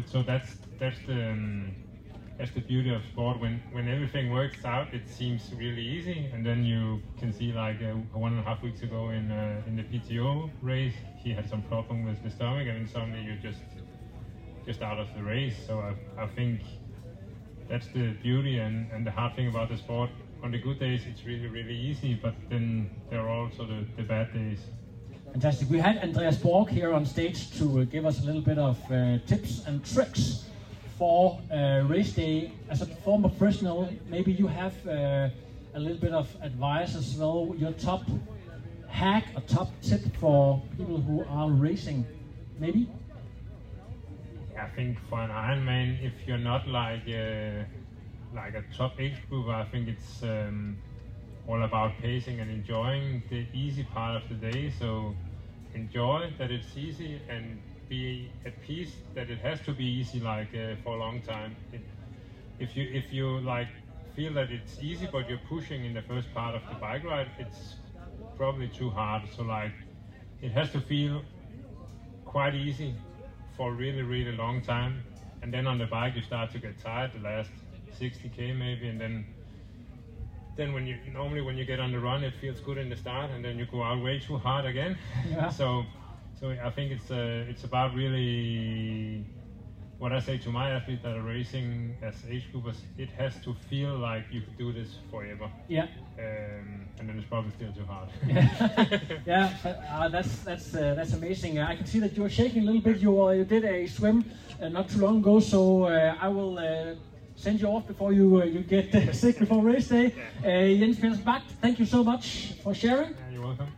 that's the beauty of sport. When everything works out, it seems really easy, and then you can see, like 1.5 weeks ago in the PTO race, he had some problem with the stomach, and then suddenly you're just out of the race. So I think that's the beauty and the hard thing about the sport. On the good days, it's really, really easy, but then there are also the bad days. Fantastic. We had Andreas Borg here on stage to give us a little bit of tips and tricks for race day. As a former professional, maybe you have a little bit of advice as well. Your top hack, a top tip for people who are racing, maybe? I think for an Ironman, if you're not like a top age group, I think it's all about pacing and enjoying the easy part of the day. So enjoy that it's easy, and be at peace that it has to be easy, like for a long time. If you like feel that it's easy but you're pushing in the first part of the bike ride, it's probably too hard. So like it has to feel quite easy for a really, really long time, and then on the bike you start to get tired the last 60k maybe, and then when you get on the run, it feels good in the start, and then you go out way too hard again. Yeah. So I think it's about really what I say to my athletes that are racing as age groupers. It has to feel like you could do this forever. Yeah. And then it's probably still too hard. Yeah, that's amazing. I can see that you're shaking a little bit. You did a swim not too long ago, so I will send you off before you get sick before race day. Jens Petersen Bach, thank you so much for sharing. Yeah, you're welcome.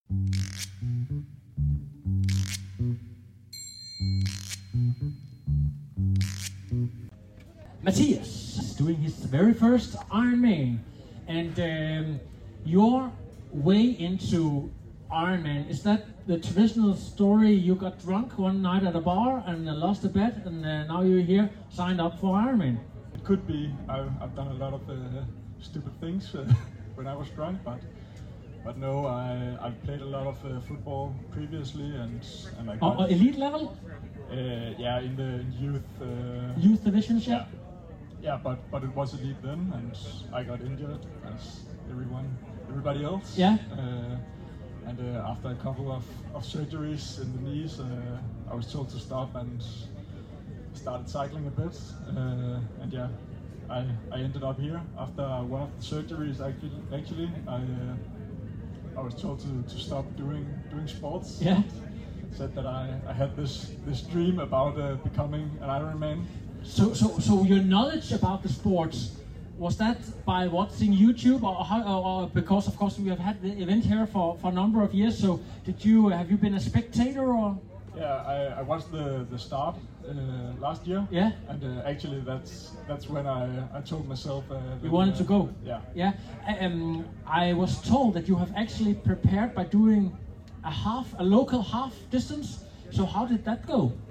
Matthias is doing his very first Ironman, and your way into Ironman, is that the traditional story? You got drunk one night at a bar and lost a bet, and now you're here signed up for Ironman? It could be. I've done a lot of stupid things when I was drunk, but no, I've played a lot of football previously, and I got elite level. Yeah, in the youth division. Yeah, but it was elite then, and I got injured as everybody else. Yeah. And after a couple of surgeries in the knees, I was told to stop and started cycling a bit. And yeah, I ended up here after one of the surgeries. Actually, I was told to stop doing sports. Yeah. Said that I had this dream about becoming an Ironman. So your knowledge about the sports, was that by watching YouTube, or because of course we have had the event here for a number of years? So have you been a spectator, or? Yeah, I watched the start last year. Yeah. And actually that's when I told myself you wanted to go. Yeah. Yeah. I was told that you have actually prepared by doing a local half distance. So how did that go?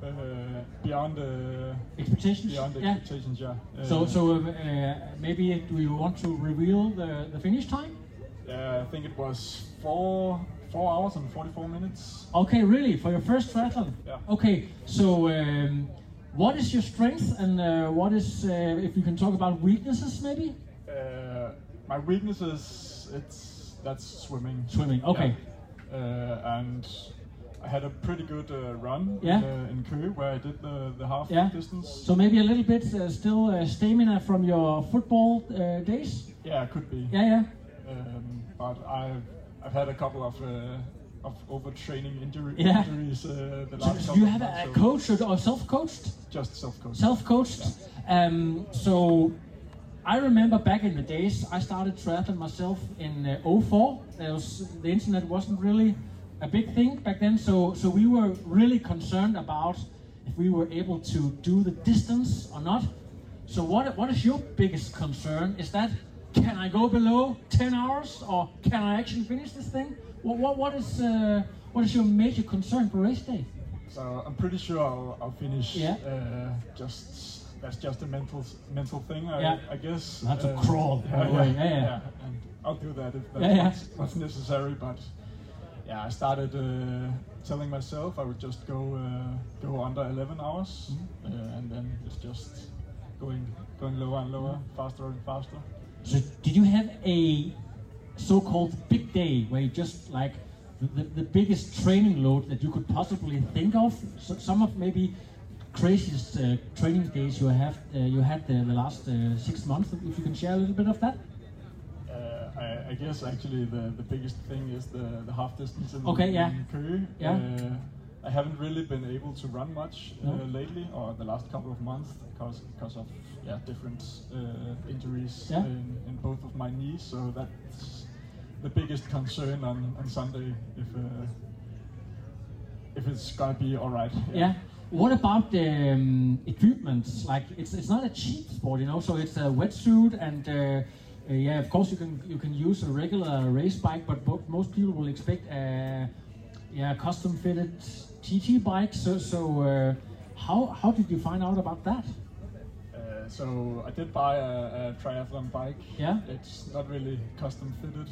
beyond expectations. Beyond expectations, yeah. So maybe do you want to reveal the finish time? I think it was 4 hours and 44 minutes. Okay, really, for your first triathlon? Yeah. Okay, so what is your strength, and what is, if you can talk about weaknesses, maybe? My weaknesses, that's swimming. Swimming, okay. Yeah. And I had a pretty good run in Køge, where I did the half distance. So maybe a little bit still stamina from your football days? Yeah, it could be. Yeah. But I've had a couple of overtraining injuries the last couple you of have months, a coach or self-coached? Just self-coached. Self-coached. Yeah. So I remember back in the days, I started triathlon myself in 2004. The internet wasn't really a big thing back then, so we were really concerned about if we were able to do the distance or not. So what is your biggest concern? Is that, can I go below 10 hours, or can I actually finish this thing? What is your major concern for race day? So I'm pretty sure I'll finish. Yeah. That's just a mental thing, I guess. You have to crawl. Yeah. And I'll do that if that's what's necessary. But yeah, I started telling myself I would just go under 11 hours, and then it's just going lower and lower, faster and faster. So did you have a so-called big day where you just like the biggest training load that you could possibly think of? So some of maybe craziest training days you had the last 6 months. If you can share a little bit of that. I guess actually the biggest thing is the half distance in Køge. Yeah. I haven't really been able to run much lately, or the last couple of months, because of different injuries in both of my knees. So that's the biggest concern on Sunday, if it's gonna be all right. Yeah. What about the equipment? Like it's not a cheap sport, you know. So it's a wetsuit and. Of course you can use a regular race bike, but most people will expect a custom fitted TT bike. So how did you find out about that? So I did buy a triathlon bike. Yeah. It's not really custom fitted.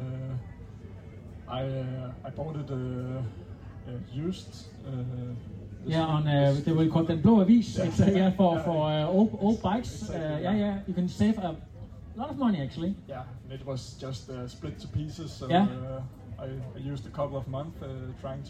I bought it used. They will call them blå avis. It's for old bikes. Exactly, You can save a lot of money actually. Yeah, it was just split to pieces. So I used a couple of months trying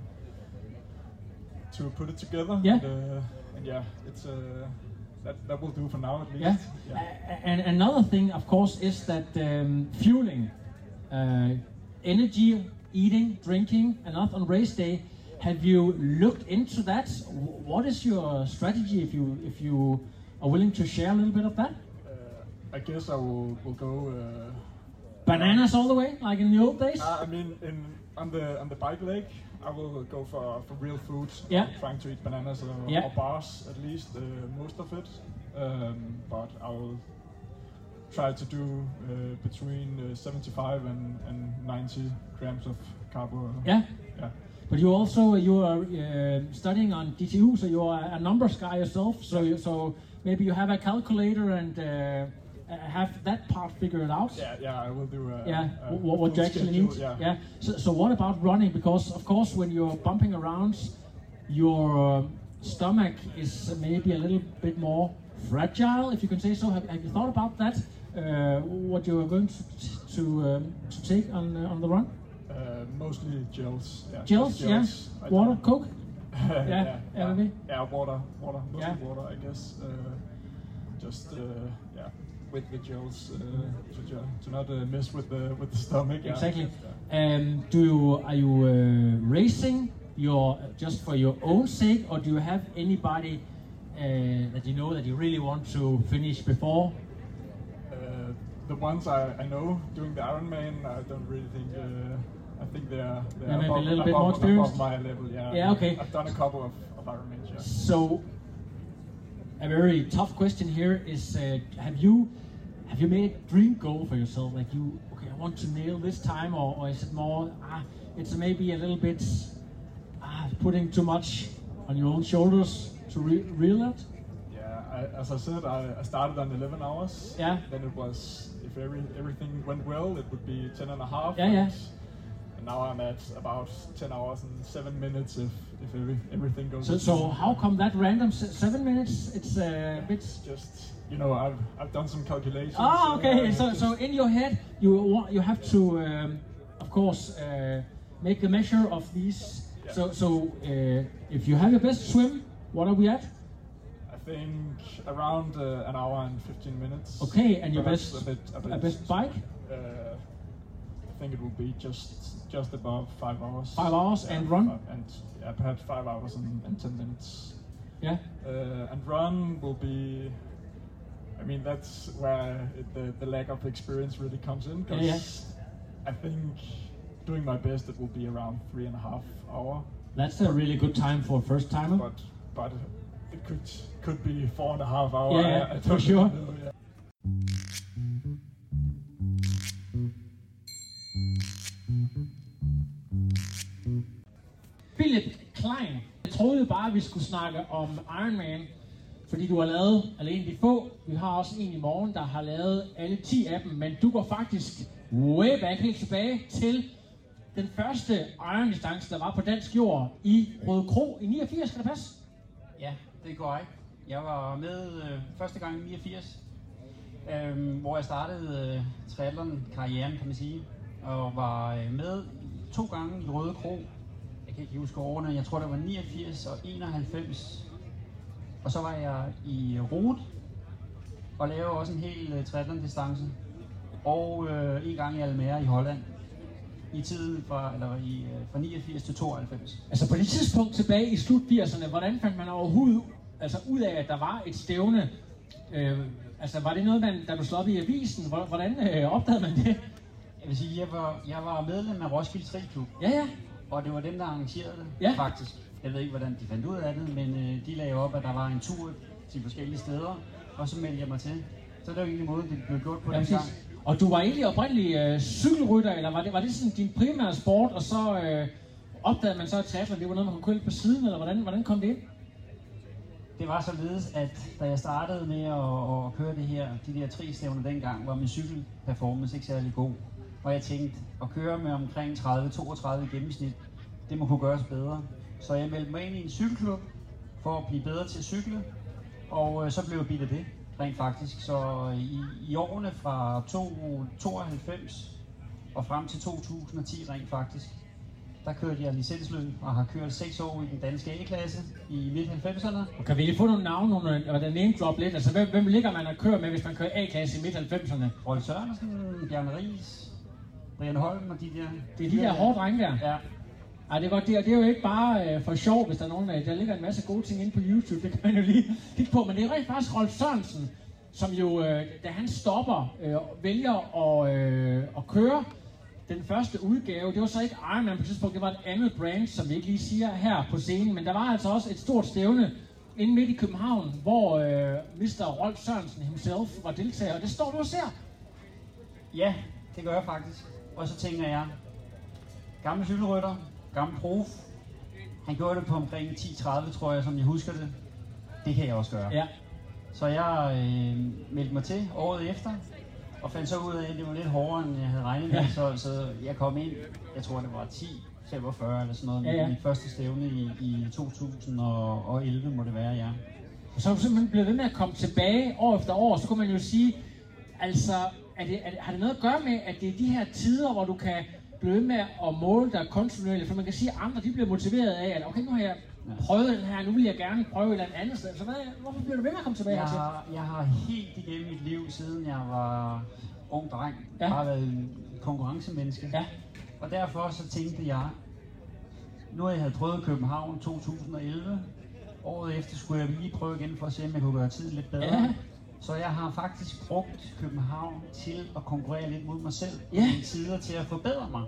to put it together. Yeah. And it's that will do for now at least. Yeah. And another thing, of course, is that fueling, energy, eating, drinking, and not on race day. Have you looked into that? What is your strategy if you are willing to share a little bit of that? I guess I will go bananas all the way, like in the old days. I mean, on the bike leg, I will go for real food. Yeah. I'm trying to eat bananas or bars at least, most of it. But I will try to do between 75 and 90 grams of carbo. Yeah. Yeah. But you are studying on DTU, so you are a numbers guy yourself. So maybe you have a calculator and have that part figured out. Yeah, I will do. What you actually need. Yeah. So what about running? Because of course, when you're bumping around, your stomach is maybe a little bit more fragile, if you can say so. Have you thought about that? What you are going to take on the run? Mostly gels. Yeah. Gels. Yeah. Water, Coke. Maybe. Yeah, water. Mostly water, I guess. With the gels to not mess with the stomach. Exactly. Are you racing just for your own sake, or do you have anybody that you know that you really want to finish before? The ones I know doing the Ironman, I don't really think. I think they're maybe above, a little bit more experienced. Above my level. Yeah. Yeah. Okay. I've done a couple of Ironmans. Yeah. So, a very tough question here is: have you made a dream goal for yourself? Like I want to nail this time, or is it more? It's maybe a little bit putting too much on your own shoulders to reel that? Yeah, as I said, I started on 11 hours. Yeah. Then it was, if everything went well, it would be 10 and a half. Yeah. And now I'm at about 10 hours and 7 minutes if everything goes well. So how come that random 7 minutes? It's a bit... Just, I've done some calculations. Oh, okay. So in your head, you have to, of course, make the measure of these. Yeah. So if you have your best swim, what are we at? I think around an hour and 15 minutes. Okay, and your best a best bike? I think it will be just above 5 hours. 5 hours and run? And perhaps 5 hours and 10 minutes. Yeah. And run will be. I mean, that's where the lack of experience really comes in. Because I think doing my best, it will be around 3.5 hours. That's a really good time for a first timer. But it could be 4.5 hours. Yeah, for sure. Know, yeah. Philip Klein, jeg troede bare, at vi skulle snakke om Ironman, fordi du har lavet alene de få. Vi har også en i morgen, der har lavet alle 10 af dem, men du går faktisk way back, helt tilbage til den første Iron-distance, der var på dansk jord i Rødekro i 89, kan det passe? Ja, det går ikke. Jeg var med første gang i 89, hvor jeg startede triathlon-karrieren, kan man sige, og var med 2 gange i Rødekro. Jeg kan ikke huske årene, jeg tror det var 89 og 91. Og så var jeg i Rot og lavede også en hel triathlon-distance. Og en gang i Almere i Holland. I tiden fra 89 til 92. Altså på det tidspunkt tilbage i slut 80'erne, hvordan fandt man overhovedet ud af, at der var et stævne? Var det noget, der blev slået op i avisen? Hvordan opdagede man det? Jeg vil sige, jeg var medlem af Roskilde Triathlon. Ja. Og det var dem, der arrangerede det, faktisk. Jeg ved ikke, hvordan de fandt ud af det, men de lagde op, at der var en tur til forskellige steder, og så meldte jeg mig til. Så det var egentlig måden, det blev gjort på den gang. Og du var egentlig oprindelig cykelrytter, eller var det sådan din primære sport, og så opdagede man så, at triathlon, det var noget, man kunne køre lidt på siden, eller hvordan kom det ind? Det var således, at da jeg startede med at køre de der 3 stævner dengang, var min cykelperformance ikke særlig god. Og jeg tænkte, at køre med omkring 30-32 i gennemsnit, det må kunne gøres bedre. Så jeg meldte mig ind i en cykelklub for at blive bedre til at cykle, og så blev jeg bidt af det, rent faktisk. Så i årene fra 92 og frem til 2010 rent faktisk, der kørte jeg licensløb og har kørt 6 år i den danske A-klasse i midt-90'erne. Og kan vi lige få nogle navne, og der name drop lidt? Altså hvem ligger man at køre med, hvis man kører A-klasse i midt-90'erne? Rolf Sørensen, Bjarne Riis, Brian Holm og de der. Det er de der hårde drenge der? Ja. Ej, det er godt, det er jo ikke bare for sjov, hvis der er nogen, der ligger en masse gode ting inde på YouTube, det kan man jo lige kigge på, men det er rent faktisk Rolf Sørensen, som jo, da han stopper, vælger at køre den første udgave. Det var så ikke Ironman på tidspunkt, det var et andet brand, som vi ikke lige siger her på scenen, men der var altså også et stort stævne inde midt i København, hvor Mr. Rolf Sørensen himself var deltager, og det står du og ser. Ja, det gør jeg faktisk. Og så tænker jeg, gammel cykelrytter, gammel prof. Han gjorde det på omkring 10:30, tror jeg, som jeg husker det. Det kan jeg også gøre. Ja. Så jeg meldte mig til året efter, og fandt så ud af, at det var lidt hårdere, end jeg havde regnet med. Så jeg kom ind, jeg tror det var 10:45 eller sådan noget, med mit første stævne i 2011 må det være, ja. Og så er du simpelthen blevet ved med at komme tilbage år efter år, så kunne man jo sige, altså, har det noget at gøre med, at det er de her tider, hvor du kan blive ved med at måle dig kontinuerligt, for man kan sige, at andre de bliver motiveret af, at okay, nu har jeg prøvet den her, nu vil jeg gerne prøve et eller andet sted. Så hvorfor bliver du ved med at komme tilbage hertil? Jeg har helt igennem mit liv, siden jeg var ung dreng, bare været en konkurrencemenneske. Ja. Og derfor så tænkte jeg, nu jeg havde prøvet København 2011, året efter skulle jeg lige prøve igen for at se, om jeg kunne gøre tiden lidt bedre. Ja. Så jeg har faktisk brugt København til at konkurrere lidt mod mig selv, i tider til at forbedre mig.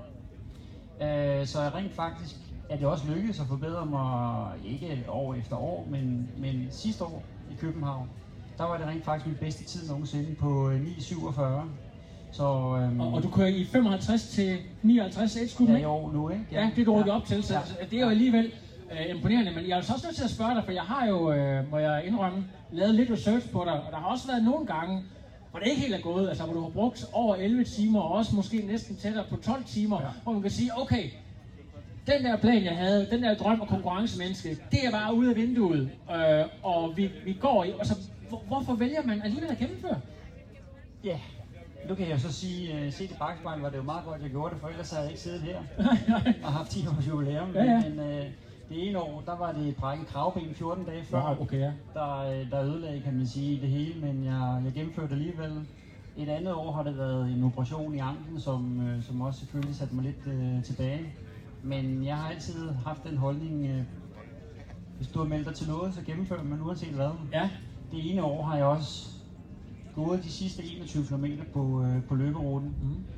Så jeg rent faktisk, at det også lykkedes at forbedre mig, ikke år efter år, men sidste år i København, der var det rent faktisk min bedste tid nogensinde på 9:47. Så, og du kører i 55 til 59 age-gruppen, ja, i år nu, ikke? Ja, det du rykker op til, så det er jo alligevel. imponerende, men jeg er også nødt til at spørge dig, for jeg har jo, må jeg indrømme, lavet lidt research på dig, og der har også været nogle gange, hvor det ikke helt er gået, altså hvor du har brugt over 11 timer, og også måske næsten tættere på 12 timer, hvor man kan sige, okay, den der plan, jeg havde, den der drøm og konkurrencemenneske, det er bare ude af vinduet, og vi går i, altså hvorfor vælger man alligevel at gennemføre? Ja, nu kan jeg så sige, set i bakspejlet var det jo meget godt, jeg gjorde det, for ellers havde jeg ikke siddet her og haft 10 års jubilæum. Men det ene år, der var det brækket kravben 14 dage før, der ødelagde, kan man sige, det hele, men jeg gennemførte alligevel. Et andet år har det været en operation i anklen, som også selvfølgelig satte mig lidt tilbage. Men jeg har altid haft den holdning, hvis du har meldt dig til noget, så gennemfører man uanset hvad. Ja. Det ene år har jeg også gået de sidste 21 km på løberuten.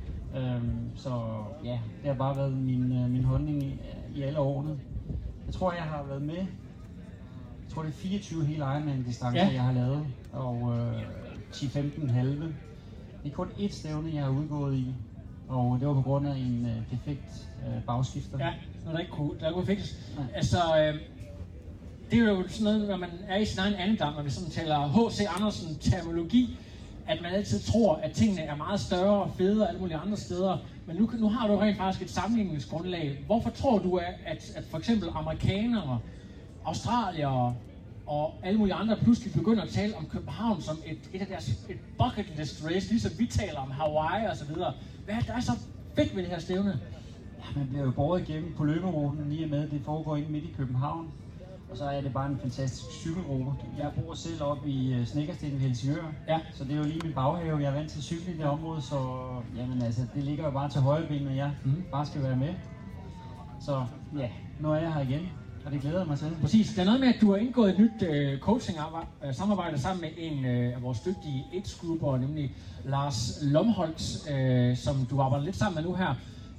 Så ja, det har bare været min holdning i alle årene. Jeg tror, jeg har været med. Jeg tror, det er 24 hele Ironman-distancer, jeg har lavet. Og 10-15 halve. Det er kun ét stævne, jeg har udgået i. Og det var på grund af en defekt bagskifter. Ja, når der ikke kunne fikses. Altså, det er jo sådan noget, når man er i sin egen andedam, når vi sådan taler H.C. Andersen-terminologi, at man altid tror, at tingene er meget større og federe og alle mulige andre steder. Men nu har du rent faktisk et sammenligningsgrundlag. Hvorfor tror du, at for eksempel amerikanere, australiere og alle mulige andre pludselig begynder at tale om København som et af deres et bucket list race, ligesom vi taler om Hawaii og så videre. Hvad er der så fedt ved det her stævne? Ja, man bliver jo båret igennem på løberuten lige med, det foregår inde midt i København. Og så er det bare en fantastisk cykelrute. Jeg bor selv oppe i Snekkersten ved Helsingør, så det er jo lige min baghave. Jeg er vant til at cykle i det område, så jamen, altså, det ligger jo bare til højre ben, når jeg bare skal være med. Så ja, nu er jeg her igen, og det glæder mig til. Præcis. Det er noget med, at du har indgået et nyt coaching-samarbejde sammen med en af vores dygtige age-grupper, nemlig Lars Lomholtz, som du arbejder lidt sammen med nu her.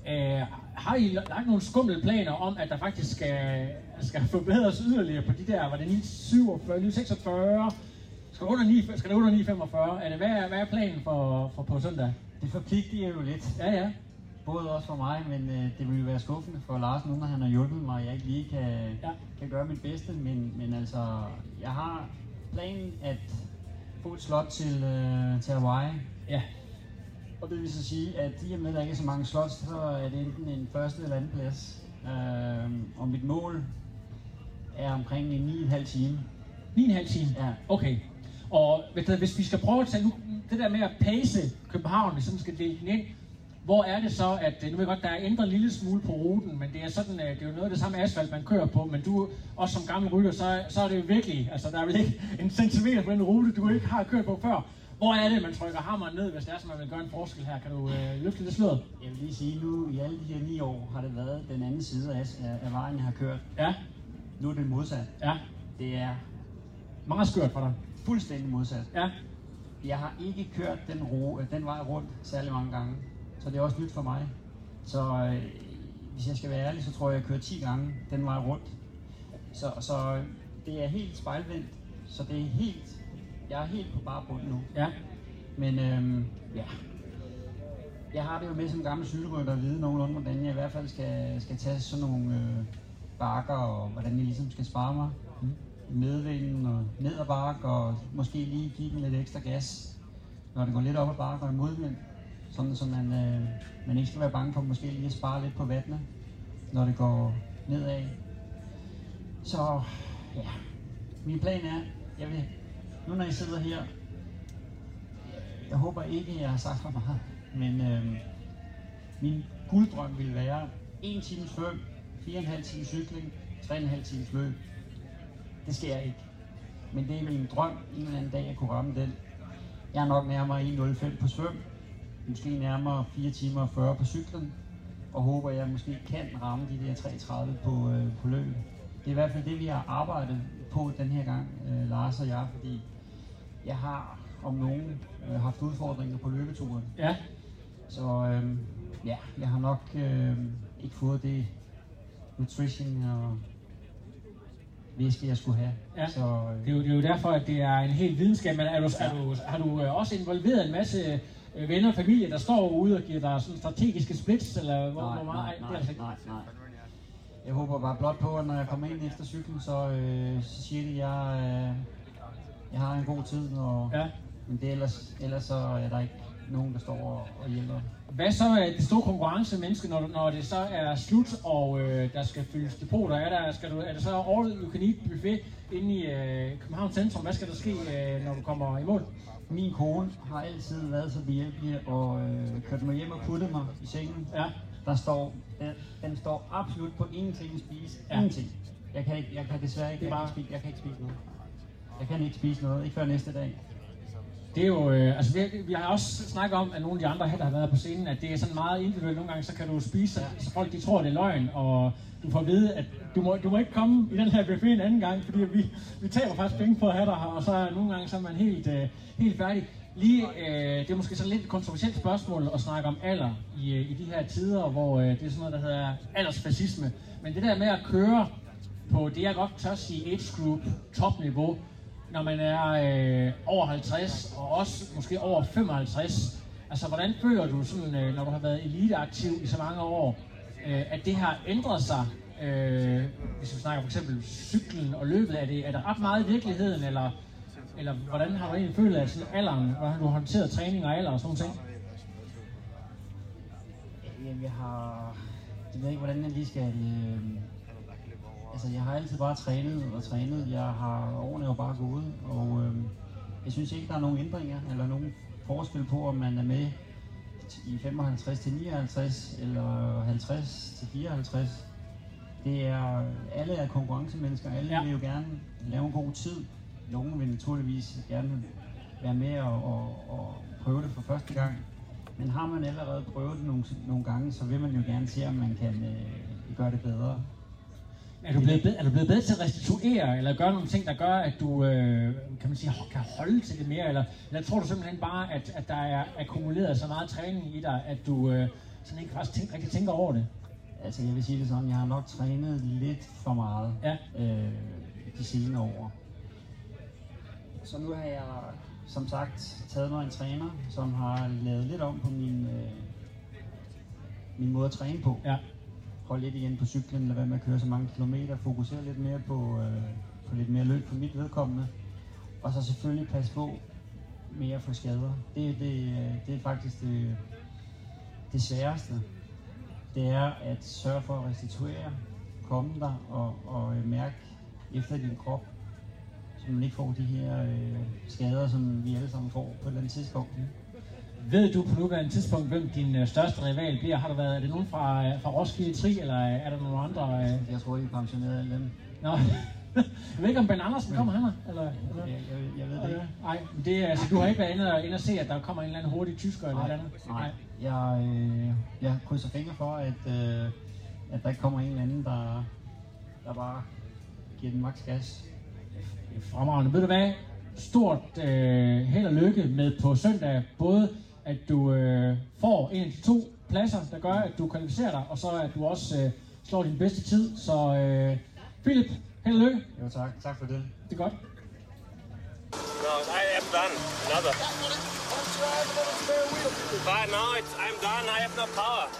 Har I lagt nogle skumle planer om, at der faktisk skal forbedres yderligere på de der, var det 947, 946? Skal det under 945? Hvad er planen for på søndag? Det forpligter jo lidt. Ja. Både også for mig, men det vil jo være skuffende for Lars nu, når han har hjulpet mig, og jeg ikke lige kan gøre mit bedste. Men altså, jeg har planen at få et slot til Hawaii. Ja. Og det vil så sige, at i og med, at der ikke er så mange slots, så er det enten en første eller anden plads. Og mit mål er omkring en 9,5 time. 9,5 time? Ja. Okay. Og hvis vi skal prøve at tage nu, det der med at pace København, hvis man skal dele den ind, hvor er det så, at nu ved jeg godt, der er ændret en lille smule på ruten, men det er sådan, det er jo noget af det samme asfalt, man kører på, men du, også som gammel rytter, så er det jo virkelig, altså der er vel ikke en centimeter på den rute, du ikke har kørt på før. Hvor er det, man trykker hammeren ned, hvis det er, så man vil gøre en forskel her? Kan du løfte det sløret? Jeg vil lige sige, nu i alle de her 9 år har det været den anden side af vejen, jeg har kørt. Ja. Nu er det modsat. Ja. Det er meget skørt for dig. Fuldstændig modsat. Ja. Jeg har ikke kørt den vej rundt særlig mange gange, så det er også nyt for mig. Så hvis jeg skal være ærlig, så tror jeg kører 10 gange den vej rundt. Så det er helt spejlvendt, så det er helt... Jeg er helt på bare bund nu. Ja. Men ja. Jeg har det jo med som gammel cykelrytter at vide nogenlunde, hvordan jeg i hvert fald skal tage sådan nogle bakker, og hvordan jeg ligesom skal spare mig. Medvinden og ned ad bakke, og måske lige give den lidt ekstra gas, når det går lidt op ad bakke og i modvind. Sådan så man ikke skal være bange for måske lige at spare lidt på vattene, når det går nedad. Så ja, min plan er, jeg vil nu når jeg sidder her, jeg håber ikke, at jeg har sagt for meget, men min gulddrøm vil være 1 times svøm, 4,5 times cykling, 3,5 times løb. Det sker ikke. Men det er min drøm, en eller anden dag at kunne ramme den. Jeg er nok nærmere 1,05 på svøm, måske nærmere 4 timer og 40 på cyklen, og håber, at jeg måske kan ramme de der 3,30 på løb. Det er i hvert fald det, vi har arbejdet på den her gang, Lars og jeg, fordi jeg har om nogen haft udfordringer på løbeturen. Ja. Så ja, jeg har nok ikke fået det nutrition og væske, jeg skulle have. Ja. Så, det er jo derfor, at det er en helt videnskab, men har du også involveret en masse venner og familie, der står ude og giver dig sådan strategiske splits, eller hvor meget? Nej. Jeg håber bare blot på, at når jeg kommer ind efter cyklen, så siger de, at jeg har en god tid. Og, ja. Men det ellers så er der ikke nogen, der står og hjælper. Hvad så er det store konkurrencemenneske, når det så er slut, og der skal fyldes depoter? Er det så all you can eat buffet inde i København Centrum? Hvad skal der ske, når du kommer i mål? Min kone har altid været så behjælpelig og kørt mig hjem og puttet mig i sengen. Ja. Den står absolut på ingenting at spise. Ja. Ingenting. Jeg kan desværre ikke, jeg kan ikke spise noget. Jeg kan ikke spise noget, ikke før næste dag. Det er jo, vi har også snakket om, at nogle af de andre her, der har været på scenen, at det er sådan meget individuelt. Nogle gange så kan du spise, så folk de tror, det er løgn, og du får at vide, at du må ikke komme i den her buffet en anden gang, fordi vi taber faktisk penge på at have dig her, og så nogle gange så er man helt færdig. Det er måske så lidt et kontroversielt spørgsmål at snakke om alder i de her tider, hvor det er sådan noget, der hedder aldersfascisme. Men det der med at køre på det, jeg godt tør sige, age group topniveau, når man er over 50 og også måske over 55. Altså, hvordan føler du sådan, når du har været eliteaktiv i så mange år, at det har ændret sig? Hvis vi snakker for eksempel cyklen og løbet, er det ret meget i virkeligheden, eller hvordan har du egentlig følt af sådan alderen? Hvordan har du håndteret træning og alder og sådan noget? Jamen, jeg ved ikke, hvordan jeg lige skal... Altså, jeg har altid bare trænet. Årene er jo bare gået, og jeg synes ikke, der er nogen ændringer, eller nogen forskel på, om man er med i 55 til 59, eller 50 til 54. Alle er konkurrencemennesker, alle vil jo gerne lave en god tid. Nogle vil naturligvis gerne være med og prøve det for første gang. Men har man allerede prøvet det nogle gange, så vil man jo gerne se, om man kan gøre det bedre. Er du blevet bedre til at restituere, eller gøre nogle ting, der gør, at du kan holde til det mere? Eller tror du simpelthen bare, at der er akkumuleret så meget træning i dig, at du sådan ikke faktisk rigtig tænker over det? Altså, jeg vil sige det sådan, jeg har nok trænet lidt for meget de senere år. Så nu har jeg, som sagt, taget mig en træner, som har lavet lidt om på min måde at træne på. Ja. Hold lidt igen på cyklen, lad være med at køre så mange kilometer, fokusere lidt mere på lidt mere løb for mit vedkommende. Og så selvfølgelig passe på mere for skader. Det er faktisk det sværeste. Det er at sørge for at restituere, komme der og mærke efter din krop, så man ikke får de her skader, som vi alle sammen får på et eller andet tidspunkt. Ved du på nuværende tidspunkt, hvem din største rival bliver? Er det nogen fra Roskilde Tri, eller er der nogle andre? Jeg tror, I er pensioneret alle dem. Nå, jeg ved ikke, om Ben Andersen kommer han her? Eller? Jeg ved det ikke. Nej, altså, du har ikke været inde og se, at der kommer en eller anden hurtig tysker eller andet? Nej. Jeg krydser fingre for, at der ikke kommer en eller anden, der bare giver den maks gas. Fremragende. Ved du hvad? Stort held og lykke med på søndag. Både at du får en af de 2 pladser, der gør, at du kvalificerer dig, og så at du også slår din bedste tid. Så Philip, held og lykke. Jo, tak. Tak for det. Det er godt. No, I am done. Another. But no, I'm done. I have no power.